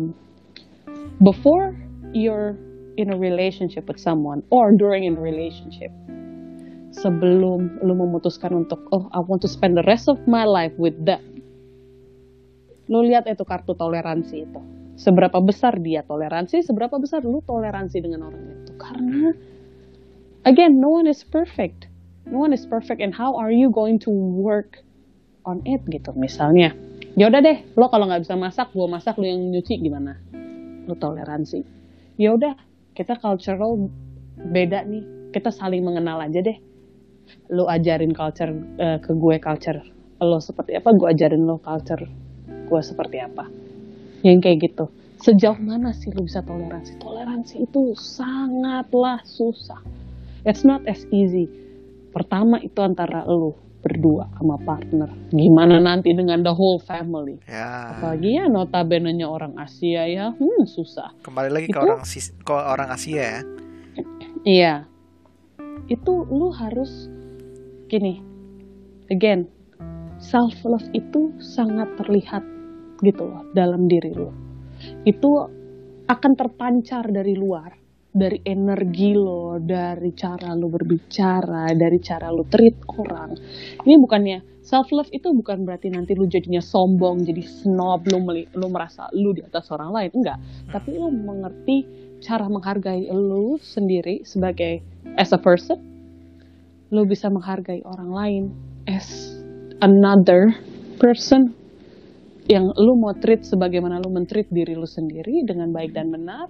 Before you're in a relationship with someone or during in a relationship, sebelum lo memutuskan untuk I want to spend the rest of my life with them, lo lihat itu kartu toleransi itu. Seberapa besar dia toleransi, seberapa besar lu toleransi dengan orang itu. Karena, again, no one is perfect. No one is perfect, and how are you going to work on it gitu. Misalnya, ya udah deh, lo kalau nggak bisa masak, gue masak, lo yang nyuci gimana? Lo toleransi. Ya udah, kita cultural beda nih, kita saling mengenal aja deh. Lo ajarin culture ke gue culture lo seperti apa, gue ajarin lo culture gue seperti apa. Yang kayak gitu. Sejauh mana sih lu bisa toleransi? Toleransi itu sangatlah susah. It's not as easy. Pertama itu antara lu berdua sama partner. Gimana nanti dengan the whole family? Ya. Apalagi ya notabene-nya orang Asia ya, susah. Kembali lagi itu, ke orang Asia ya. Iya. Itu lu harus gini. Again, self love itu sangat terlihat gitu loh dalam diri lo. Itu akan terpancar dari luar, dari energi lo, dari cara lo berbicara, dari cara lo treat orang. Ini bukannya self love itu bukan berarti nanti lo jadinya sombong, jadi snob, lo merasa lo di atas orang lain, enggak. Tapi lo mengerti cara menghargai lo sendiri sebagai as a person. Lo bisa menghargai orang lain as another person yang lu mau treat sebagaimana lu men-treat diri lu sendiri dengan baik dan benar.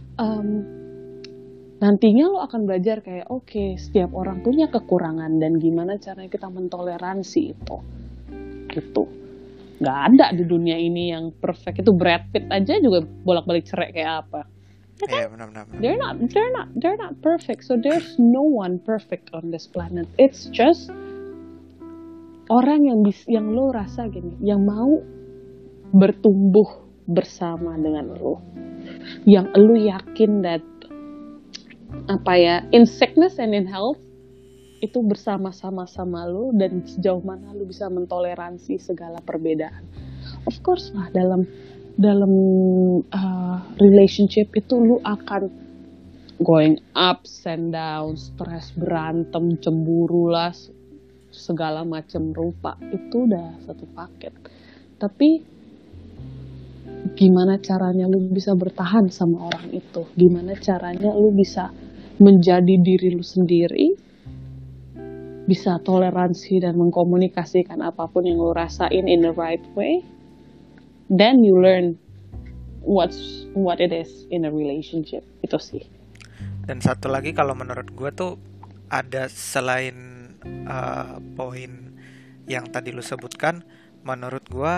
Nantinya lu akan belajar kayak oke, setiap orang punya kekurangan dan gimana caranya kita mentoleransi itu gitu. Gak ada di dunia ini yang perfect. Itu Brad Pitt aja juga bolak-balik cerai kayak apa. Iya, benar-benar. They're not perfect. So there's no one perfect on this planet. It's just orang yang lo rasa gini, yang mau bertumbuh bersama dengan lo, yang lo yakin that in sickness and in health itu bersama-sama lo, dan sejauh mana lo bisa mentoleransi segala perbedaan. Of course lah, dalam relationship itu lo akan going ups and downs, stres, berantem, cemburu lah, segala macam rupa. Itu udah satu paket. Tapi gimana caranya lu bisa bertahan sama orang itu? Gimana caranya lu bisa menjadi diri lu sendiri? Bisa toleransi dan mengkomunikasikan apapun yang lu rasain in the right way? Then you learn what it is in a relationship. Itu sih. Dan satu lagi kalau menurut gue tuh ada selain poin yang tadi lu sebutkan, menurut gue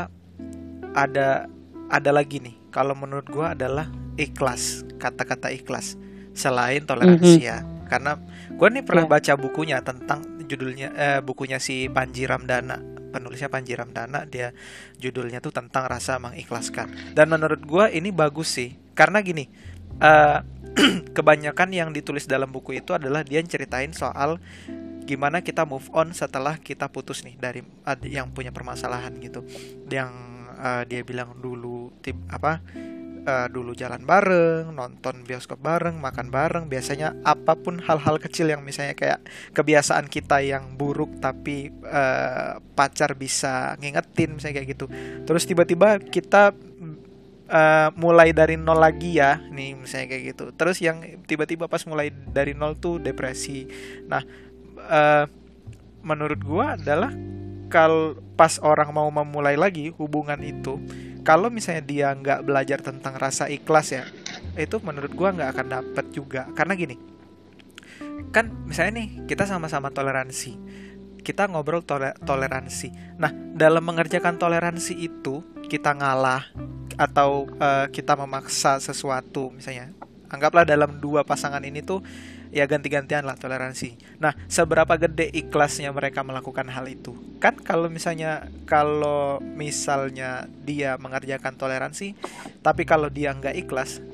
ada lagi nih. Kalau menurut gue adalah ikhlas, kata-kata ikhlas selain toleransi ya. Karena gue nih pernah baca bukunya tentang judulnya bukunya si Panji Ramdana, penulisnya Panji Ramdana. Dia judulnya tuh tentang rasa mengikhlaskan. Dan menurut gue ini bagus sih, karena gini, kebanyakan yang ditulis dalam buku itu adalah dia ceritain soal gimana kita move on setelah kita putus nih dari yang punya permasalahan gitu. Yang dia bilang dulu dulu jalan bareng, nonton bioskop bareng, makan bareng. Biasanya apapun hal-hal kecil yang misalnya kayak kebiasaan kita yang buruk tapi pacar bisa ngingetin misalnya kayak gitu. Terus tiba-tiba kita mulai dari nol lagi ya nih misalnya kayak gitu. Terus yang tiba-tiba pas mulai dari nol tuh depresi. Nah, menurut gua adalah kalau pas orang mau memulai lagi hubungan itu, kalau misalnya dia nggak belajar tentang rasa ikhlas ya, itu menurut gua nggak akan dapet juga. Karena gini, kan misalnya nih kita sama-sama toleransi, kita ngobrol toleransi. Nah, dalam mengerjakan toleransi itu kita ngalah atau kita memaksa sesuatu, misalnya anggaplah dalam dua pasangan ini tuh ya ganti-gantian lah toleransi. Nah, seberapa gede ikhlasnya mereka melakukan hal itu? Kan kalau misalnya dia mengerjakan toleransi, tapi kalau dia nggak ikhlas,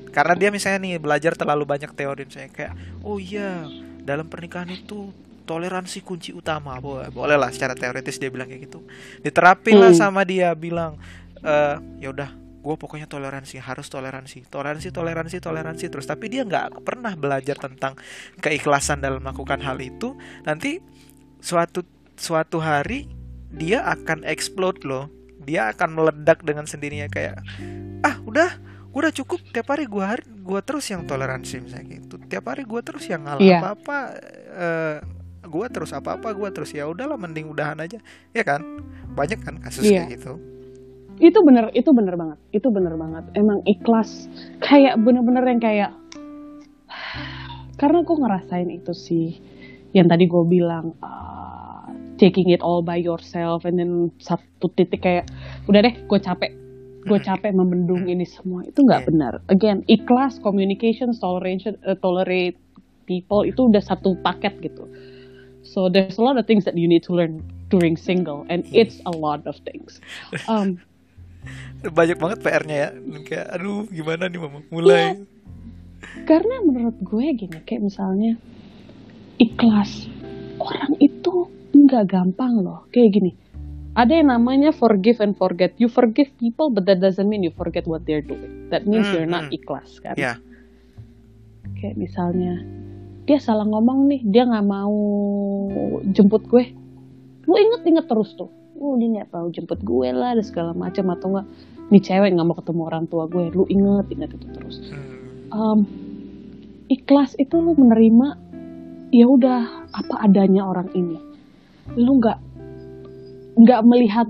Karena dia misalnya nih belajar terlalu banyak teori, misalnya kayak, oh iya, dalam pernikahan itu toleransi kunci utama. Boleh lah secara teoritis dia bilang kayak gitu. Diterapin lah Hmm. sama dia, bilang, ya udah, gue pokoknya toleransi, harus toleransi, toleransi, toleransi, toleransi terus. Tapi dia nggak pernah belajar tentang keikhlasan dalam melakukan hal itu. Nanti suatu suatu hari dia akan explode loh. Dia akan meledak dengan sendirinya, kayak, udah, gue udah cukup, tiap hari gue terus yang toleransi misalnya gitu, tiap hari gue terus yang ngalah Iya, apa-apa, gue terus apa-apa, gue terus, ya udahlah, mending udahan aja, ya kan? Banyak kan kasus iya. kayak gitu. Itu bener banget. Itu bener banget. Emang ikhlas. Kayak bener-bener yang kayak, karena gue ngerasain itu sih. Yang tadi gue bilang, taking it all by yourself, and then satu titik kayak, udah deh, gue capek membendung ini semua. Itu nggak Iya. benar. Again, ikhlas, communication, tolerate people, itu udah satu paket gitu. So there's a lot of things that you need to learn during single, and it's a lot of things. Banyak banget PR-nya ya. Kayak, aduh, gimana nih mama Iya, mulai. karena menurut gue gini, kayak misalnya ikhlas, orang itu nggak gampang loh. Kayak gini, ada yang namanya forgive and forget. You forgive people, but that doesn't mean you forget what they're doing. That means you're not ikhlas kan. Ya, Kayak misalnya dia salah ngomong nih, dia nggak mau jemput gue, lu inget terus tuh, dia nggak mau jemput gue lah, ada segala macam, atau nggak, nih cewek nggak mau ketemu orang tua gue, lu inget itu terus. Ikhlas itu lu menerima, ya udah, apa adanya orang ini, lu nggak melihat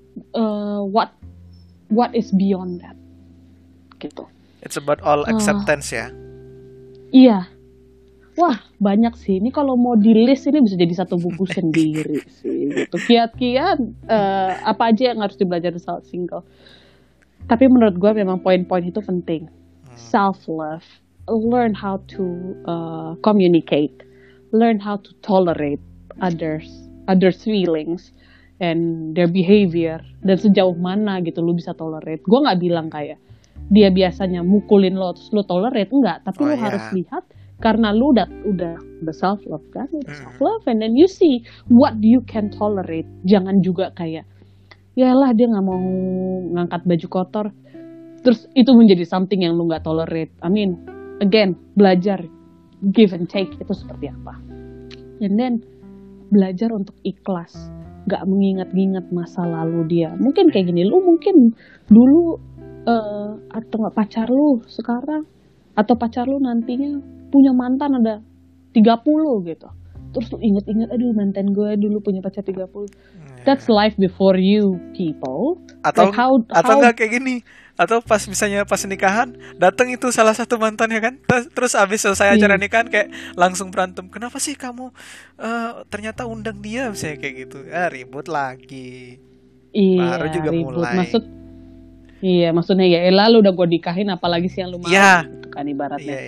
what is beyond that gitu. it's about all acceptance ya. Iya. Wah, banyak sih. Ini kalau mau di list ini bisa jadi satu buku sendiri sih. Gitu. Kiat-kiat apa aja yang harus dibelajar saat single. Tapi menurut gue memang poin-poin itu penting. Self-love, learn how to communicate, learn how to tolerate others feelings and their behavior, dan sejauh mana gitu lu bisa tolerate. Gue nggak bilang kayak dia biasanya mukulin lo terus lu tolerate, enggak. Tapi lu harus lihat, karena lu udah self love kan, self love, and then you see what you can tolerate. Jangan juga kayak, yalah dia nggak mau ngangkat baju kotor, terus itu menjadi something yang lu nggak tolerate. I mean, again, belajar give and take itu seperti apa, and then belajar untuk ikhlas, nggak mengingat-ingat masa lalu dia. Mungkin kayak gini, lu mungkin dulu atau nggak pacar lu sekarang, atau pacar lu nantinya punya mantan ada 30 gitu. Terus lu inget-inget, aduh mantan gue dulu punya pacar 30. That's life before you people. Atau Like how nggak kayak gini. Atau pas misalnya pas nikahan, datang itu salah satu mantannya kan. Terus abis selesai acara nikahan kayak langsung berantem. Kenapa sih kamu ternyata undang dia misalnya kayak gitu. Ribut lagi. Iya, baru juga ribut. mulai. Maksudnya ya elah, lu udah gue nikahin, apalagi sih yang lu mau gitu kan ibaratnya.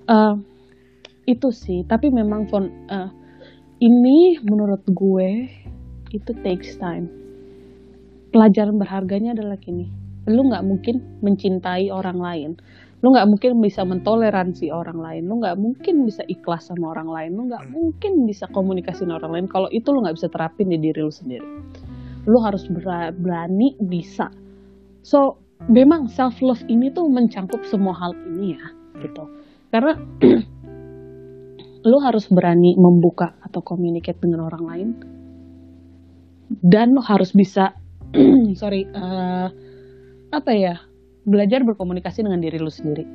Itu sih, tapi memang ini menurut gue itu takes time. Pelajaran berharganya adalah gini, lu nggak mungkin mencintai orang lain, lu nggak mungkin bisa mentoleransi orang lain, lu nggak mungkin bisa ikhlas sama orang lain, lu nggak mungkin bisa komunikasi sama orang lain kalau itu lu nggak bisa terapin di diri lu sendiri. Lu harus berani bisa. So memang self love ini tuh mencangkup semua hal ini ya gitu, karena lu harus berani membuka atau communicate dengan orang lain, dan lu harus bisa belajar berkomunikasi dengan diri lu sendiri.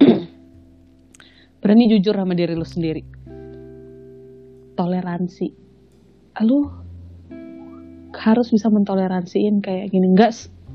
Berani jujur sama diri lu sendiri. Toleransi, lu harus bisa mentoleransiin kayak gini. Enggak,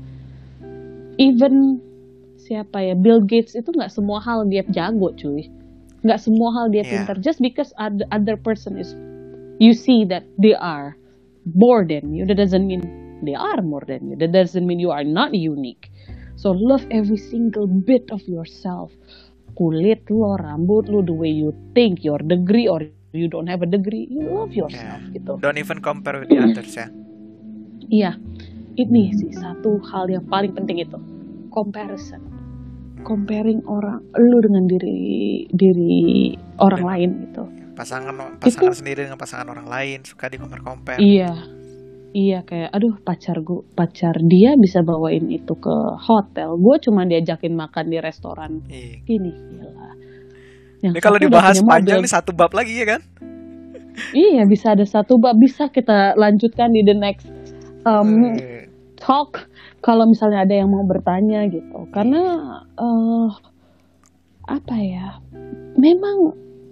even Bill Gates itu nggak semua hal dia jago cuy, nggak semua hal dia pintar. Just because other person is, you see that they are more than you, that doesn't mean they are more than you. That doesn't mean you are not unique. So love every single bit of yourself. Kulit lo, rambut lo, the way you think, your degree or you don't have a degree, you love yourself gitu. Don't even compare with the others ya. Iya, ini sih satu hal yang paling penting itu, comparison. comparing lu dengan diri orang lain gitu. Pasangan Itu sendiri dengan pasangan orang lain, suka di compare. iya kayak aduh pacar dia bisa bawain itu ke hotel, gue cuma diajakin makan di restoran gini, gila. Ini kalau dibahas panjang nih satu bab lagi ya kan? Iya, bisa ada satu bab, bisa kita lanjutkan di the next talk kalau misalnya ada yang mau bertanya gitu. Karena apa ya, memang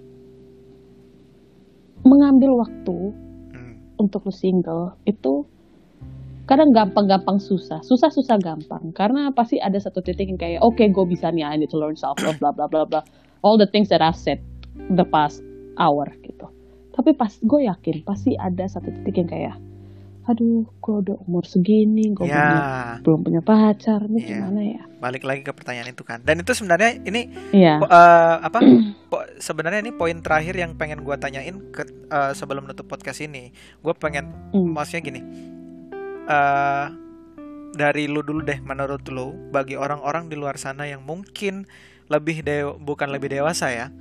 mengambil waktu untuk lu single itu kadang gampang susah gampang, karena pasti ada satu titik yang kayak oke, gue bisa nih, I need to learn self love bla bla bla bla, all the things that I've said the past hour gitu. Tapi gue yakin pasti ada satu titik yang kayak aduh, gue udah umur segini, gue belum punya pacar, ini gimana ya? Balik lagi ke pertanyaan itu kan. Dan itu sebenarnya ini sebenarnya ini poin terakhir yang pengen gue tanyain sebelum nutup podcast ini. Gue pengen maksudnya gini, dari lu dulu deh, menurut lu, bagi orang-orang di luar sana yang mungkin bukan lebih dewasa ya,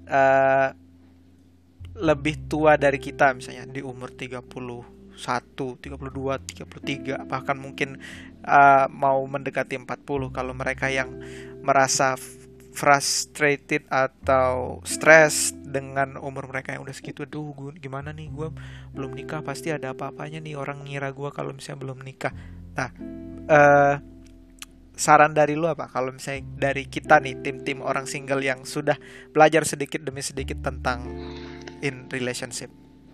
lebih tua dari kita, misalnya di umur 31, 32, 33, bahkan mungkin mau mendekati 40. Kalau mereka yang merasa frustrated atau stres dengan umur mereka yang udah segitu, aduh gimana nih, gue belum nikah, pasti ada apa-apanya nih, orang ngira gue kalau misalnya belum nikah. Nah, saran dari lu apa kalau misalnya dari kita nih, tim orang single yang sudah belajar sedikit demi sedikit tentang in relationship?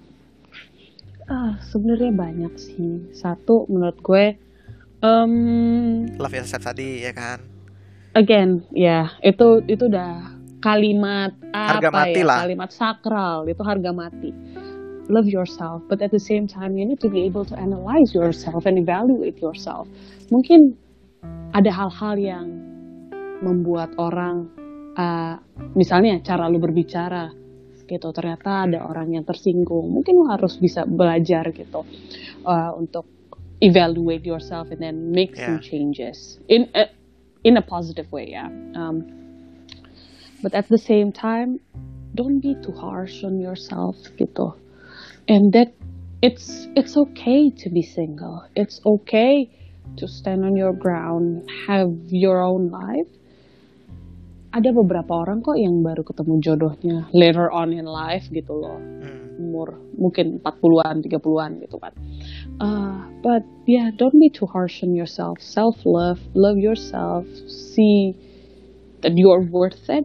Sebenarnya banyak sih. Satu, menurut gue love yourself tadi ya kan. Again, ya itu udah kalimat harga mati lah. Kalimat sakral, itu harga mati. Love yourself, but at the same time you need to be able to analyze yourself and evaluate yourself. Mungkin ada hal-hal yang membuat orang misalnya cara lu berbicara gitu, ternyata ada orang yang tersinggung. Mungkin lu harus bisa belajar gitu untuk evaluate yourself and then make some changes in a positive way, ya. But at the same time, don't be too harsh on yourself gitu. And that it's okay to be single. It's okay to stand on your ground, have your own life. Ada beberapa orang kok yang baru ketemu jodohnya later on in life gitu loh. Umur mungkin 40-an, 30-an gitu kan. But yeah, don't be too harsh on yourself. Self-love, love yourself, see that you are worth it.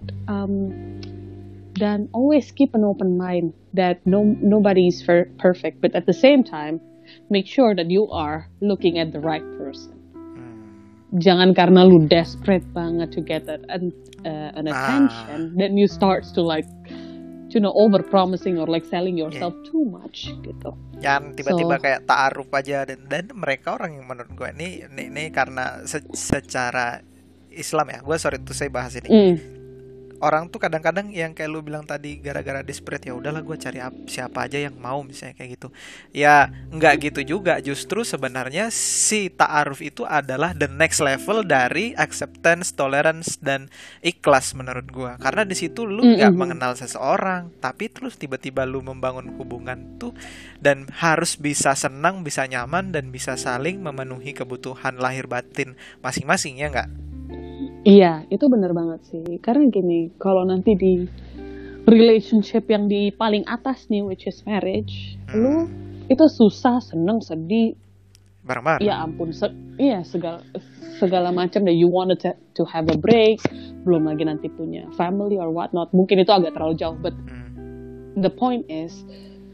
Dan always keep an open mind that nobody is perfect, but at the same time, make sure that you are looking at the right person. Jangan karena lu desperate banget to get an attention, then you start to like, over promising or like selling yourself too much gitu. Jangan tiba-tiba kayak ta'aruf aja, dan mereka orang yang menurut gue ini karena secara Islam ya, gue sorry tuh saya bahas ini. Orang tuh kadang-kadang yang kayak lu bilang tadi, gara-gara desperate, ya udahlah gue cari siapa aja yang mau, misalnya kayak gitu. Ya nggak gitu juga. Justru sebenarnya si ta'aruf itu adalah the next level dari acceptance, tolerance, dan ikhlas menurut gue. Karena di situ lu nggak mengenal seseorang, tapi terus tiba-tiba lu membangun hubungan tuh, dan harus bisa senang, bisa nyaman, dan bisa saling memenuhi kebutuhan lahir batin masing-masing, ya nggak? Iya, itu benar banget sih. Karena gini, kalau nanti di relationship yang di paling atas nih, which is marriage, lu itu susah, seneng, sedih, bareng-bareng. Ya ampun, segala macam that you wanted to have a break, belum lagi nanti punya family or what not. Mungkin itu agak terlalu jauh, but the point is,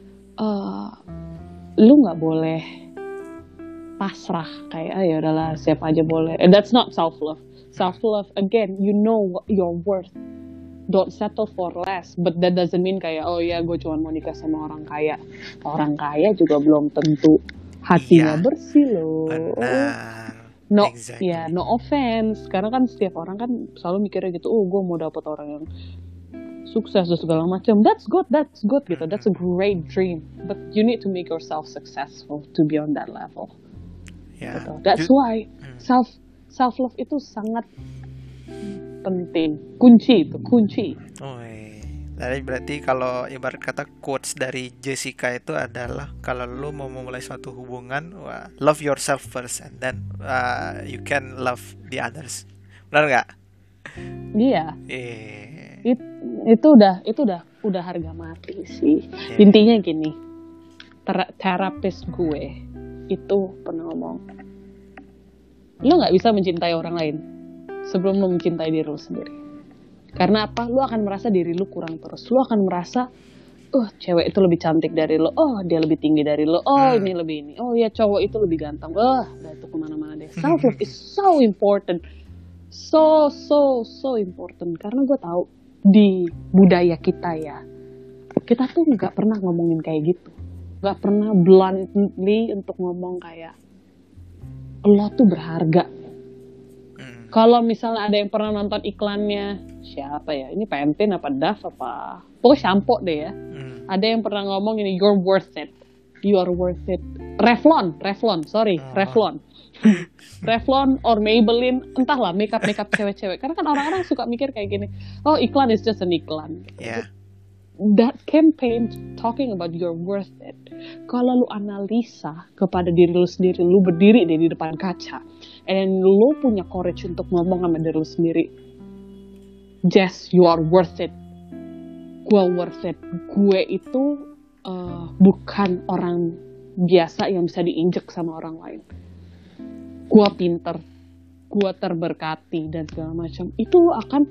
lu nggak boleh pasrah kayak ya udahlah siapa aja boleh. And that's not self-love. Self-love, again, you know your worth. Don't settle for less. But that doesn't mean kayak, oh ya gue cuma mau nikah sama orang kaya. Orang kaya juga belum tentu hatinya bersih loh. Benar. No, exactly. No offense. Karena kan setiap orang kan selalu mikirnya gitu, oh gue mau dapet orang yang sukses dan segala macam. That's good gitu. That's a great dream. But you need to make yourself successful to be on that level. Yeah. Gitu. That's why self-love itu sangat penting, kunci itu kunci. Jadi berarti kalau ibarat kata quotes dari Jessica itu adalah kalau lu mau memulai suatu hubungan, love yourself first and then you can love the others. Benar nggak? Iya. Eh, Itu udah harga mati sih. iya. Intinya gini, terapis gue itu pernah ngomong, lo nggak bisa mencintai orang lain sebelum lo mencintai diri lo sendiri. Karena apa? Lo akan merasa diri lo kurang terus. Lo akan merasa, cewek itu lebih cantik dari lo. Oh, dia lebih tinggi dari lo. Oh, ini lebih ini. Oh ya, cowok itu lebih ganteng. Udah itu kemana-mana deh. Self love is so important, so important. Karena gue tahu di budaya kita ya, kita tuh nggak pernah ngomongin kayak gitu. Nggak pernah bluntly untuk ngomong kayak lo tuh berharga. Kalau misalnya ada yang pernah nonton iklannya, siapa ya? Ini Pantene apa Dove apa? Pokoknya shampoo deh ya. Ada yang pernah ngomong ini, you're worth it. You are worth it. Revlon, sorry, Revlon. Revlon or Maybelline, entahlah makeup cewek-cewek. Karena kan orang-orang suka mikir kayak gini, oh iklan is just an iklan. Yeah. That campaign talking about you're worth it. Kalau lu analisa kepada diri lu sendiri, lu berdiri di depan kaca, and lu punya courage untuk ngomong sama diri lu sendiri, Jess, you are worth it. Gue worth it. Gue itu bukan orang biasa yang bisa diinjek sama orang lain. Gue pinter, gue terberkati dan segala macam. Itu lu akan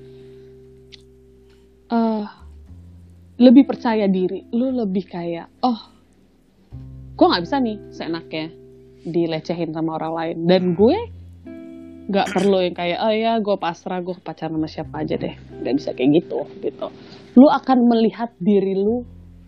lebih percaya diri. Lu lebih kayak, gue nggak bisa nih seenaknya dilecehin sama orang lain. Dan gue nggak perlu yang kayak, ya gue pasrah, gue pacaran sama siapa aja deh. Nggak bisa kayak gitu. Lu akan melihat diri lu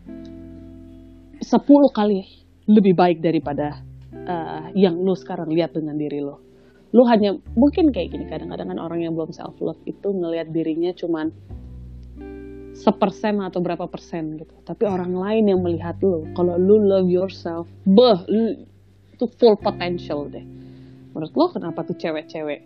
10 kali lebih baik daripada yang lu sekarang lihat dengan diri lu. Lu hanya, mungkin kayak gini, kadang-kadang kan orang yang belum self love itu ngelihat dirinya cuman 1% atau berapa persen gitu. Tapi orang lain yang melihat lu, kalau lu love yourself, itu full potential deh. Menurut lo kenapa tuh cewek-cewek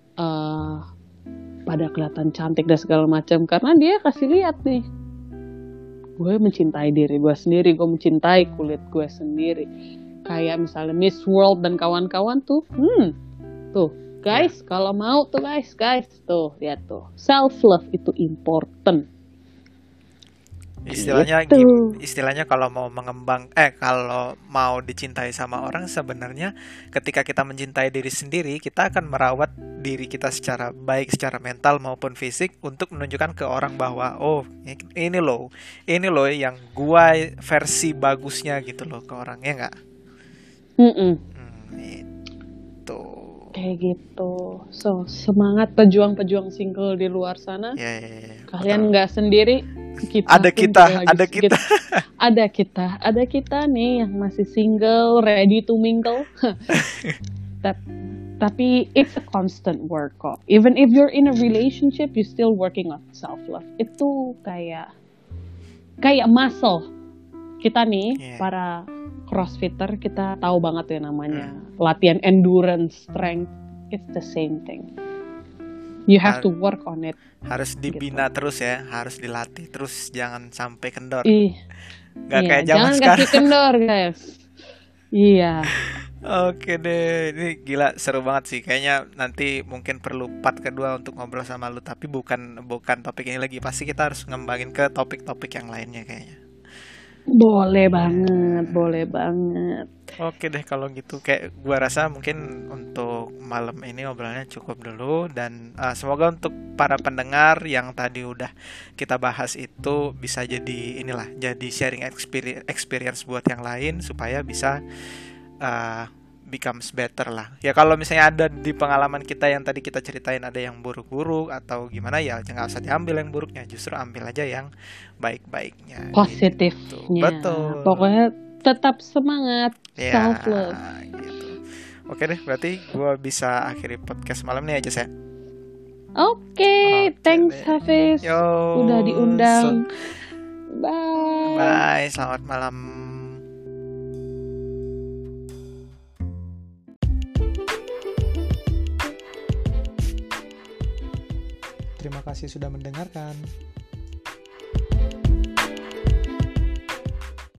pada kelihatan cantik dan segala macam? Karena dia kasih lihat nih, gue mencintai diri gue sendiri, gue mencintai kulit gue sendiri. Kayak misalnya Miss World dan kawan-kawan tuh, tuh guys, kalau mau tuh guys, tuh lihat tuh, self love itu important. Istilahnya kalau mau kalau mau dicintai sama orang, sebenarnya ketika kita mencintai diri sendiri, kita akan merawat diri kita secara baik, secara mental maupun fisik, untuk menunjukkan ke orang bahwa ini loh yang gua versi bagusnya gitu loh ke orang, ya nggak? Itu kayak gitu. So semangat pejuang-pejuang single di luar sana. Kalian nggak sendiri. Ada kita nih yang masih single, ready to mingle. Tapi it's a constant work kok. Even if you're in a relationship, you still working on self love. Itu kayak muscle. Kita nih para crossfitter, kita tahu banget ya namanya latihan endurance, strength. It's the same thing. You have to work on it. Harus dibina gitu. Terus ya, harus dilatih terus, jangan sampai kendor. Gak kayak zaman sekarang. Jangan kasih kendor guys. Iya. Oke deh, ini gila seru banget sih. Kayaknya nanti mungkin perlu part kedua untuk ngobrol sama lu, tapi bukan topik ini lagi. Pasti kita harus ngembangin ke topik-topik yang lainnya kayaknya. Boleh banget. Oke deh kalau gitu, kayak gua rasa mungkin untuk malam ini obrolannya cukup dulu, dan semoga untuk para pendengar yang tadi udah kita bahas itu bisa jadi jadi sharing experience buat yang lain supaya bisa becomes better lah. Ya kalau misalnya ada di pengalaman kita yang tadi kita ceritain ada yang buruk-buruk atau gimana, ya jangan usah diambil yang buruknya, justru ambil aja yang baik-baiknya, positifnya gitu. Betul. Pokoknya tetap semangat, self love gitu. Oke deh, berarti gue bisa akhiri podcast malam ini aja, Oke, thanks deh. Hafiz udah diundang. Bye, selamat malam. Terima kasih sudah mendengarkan.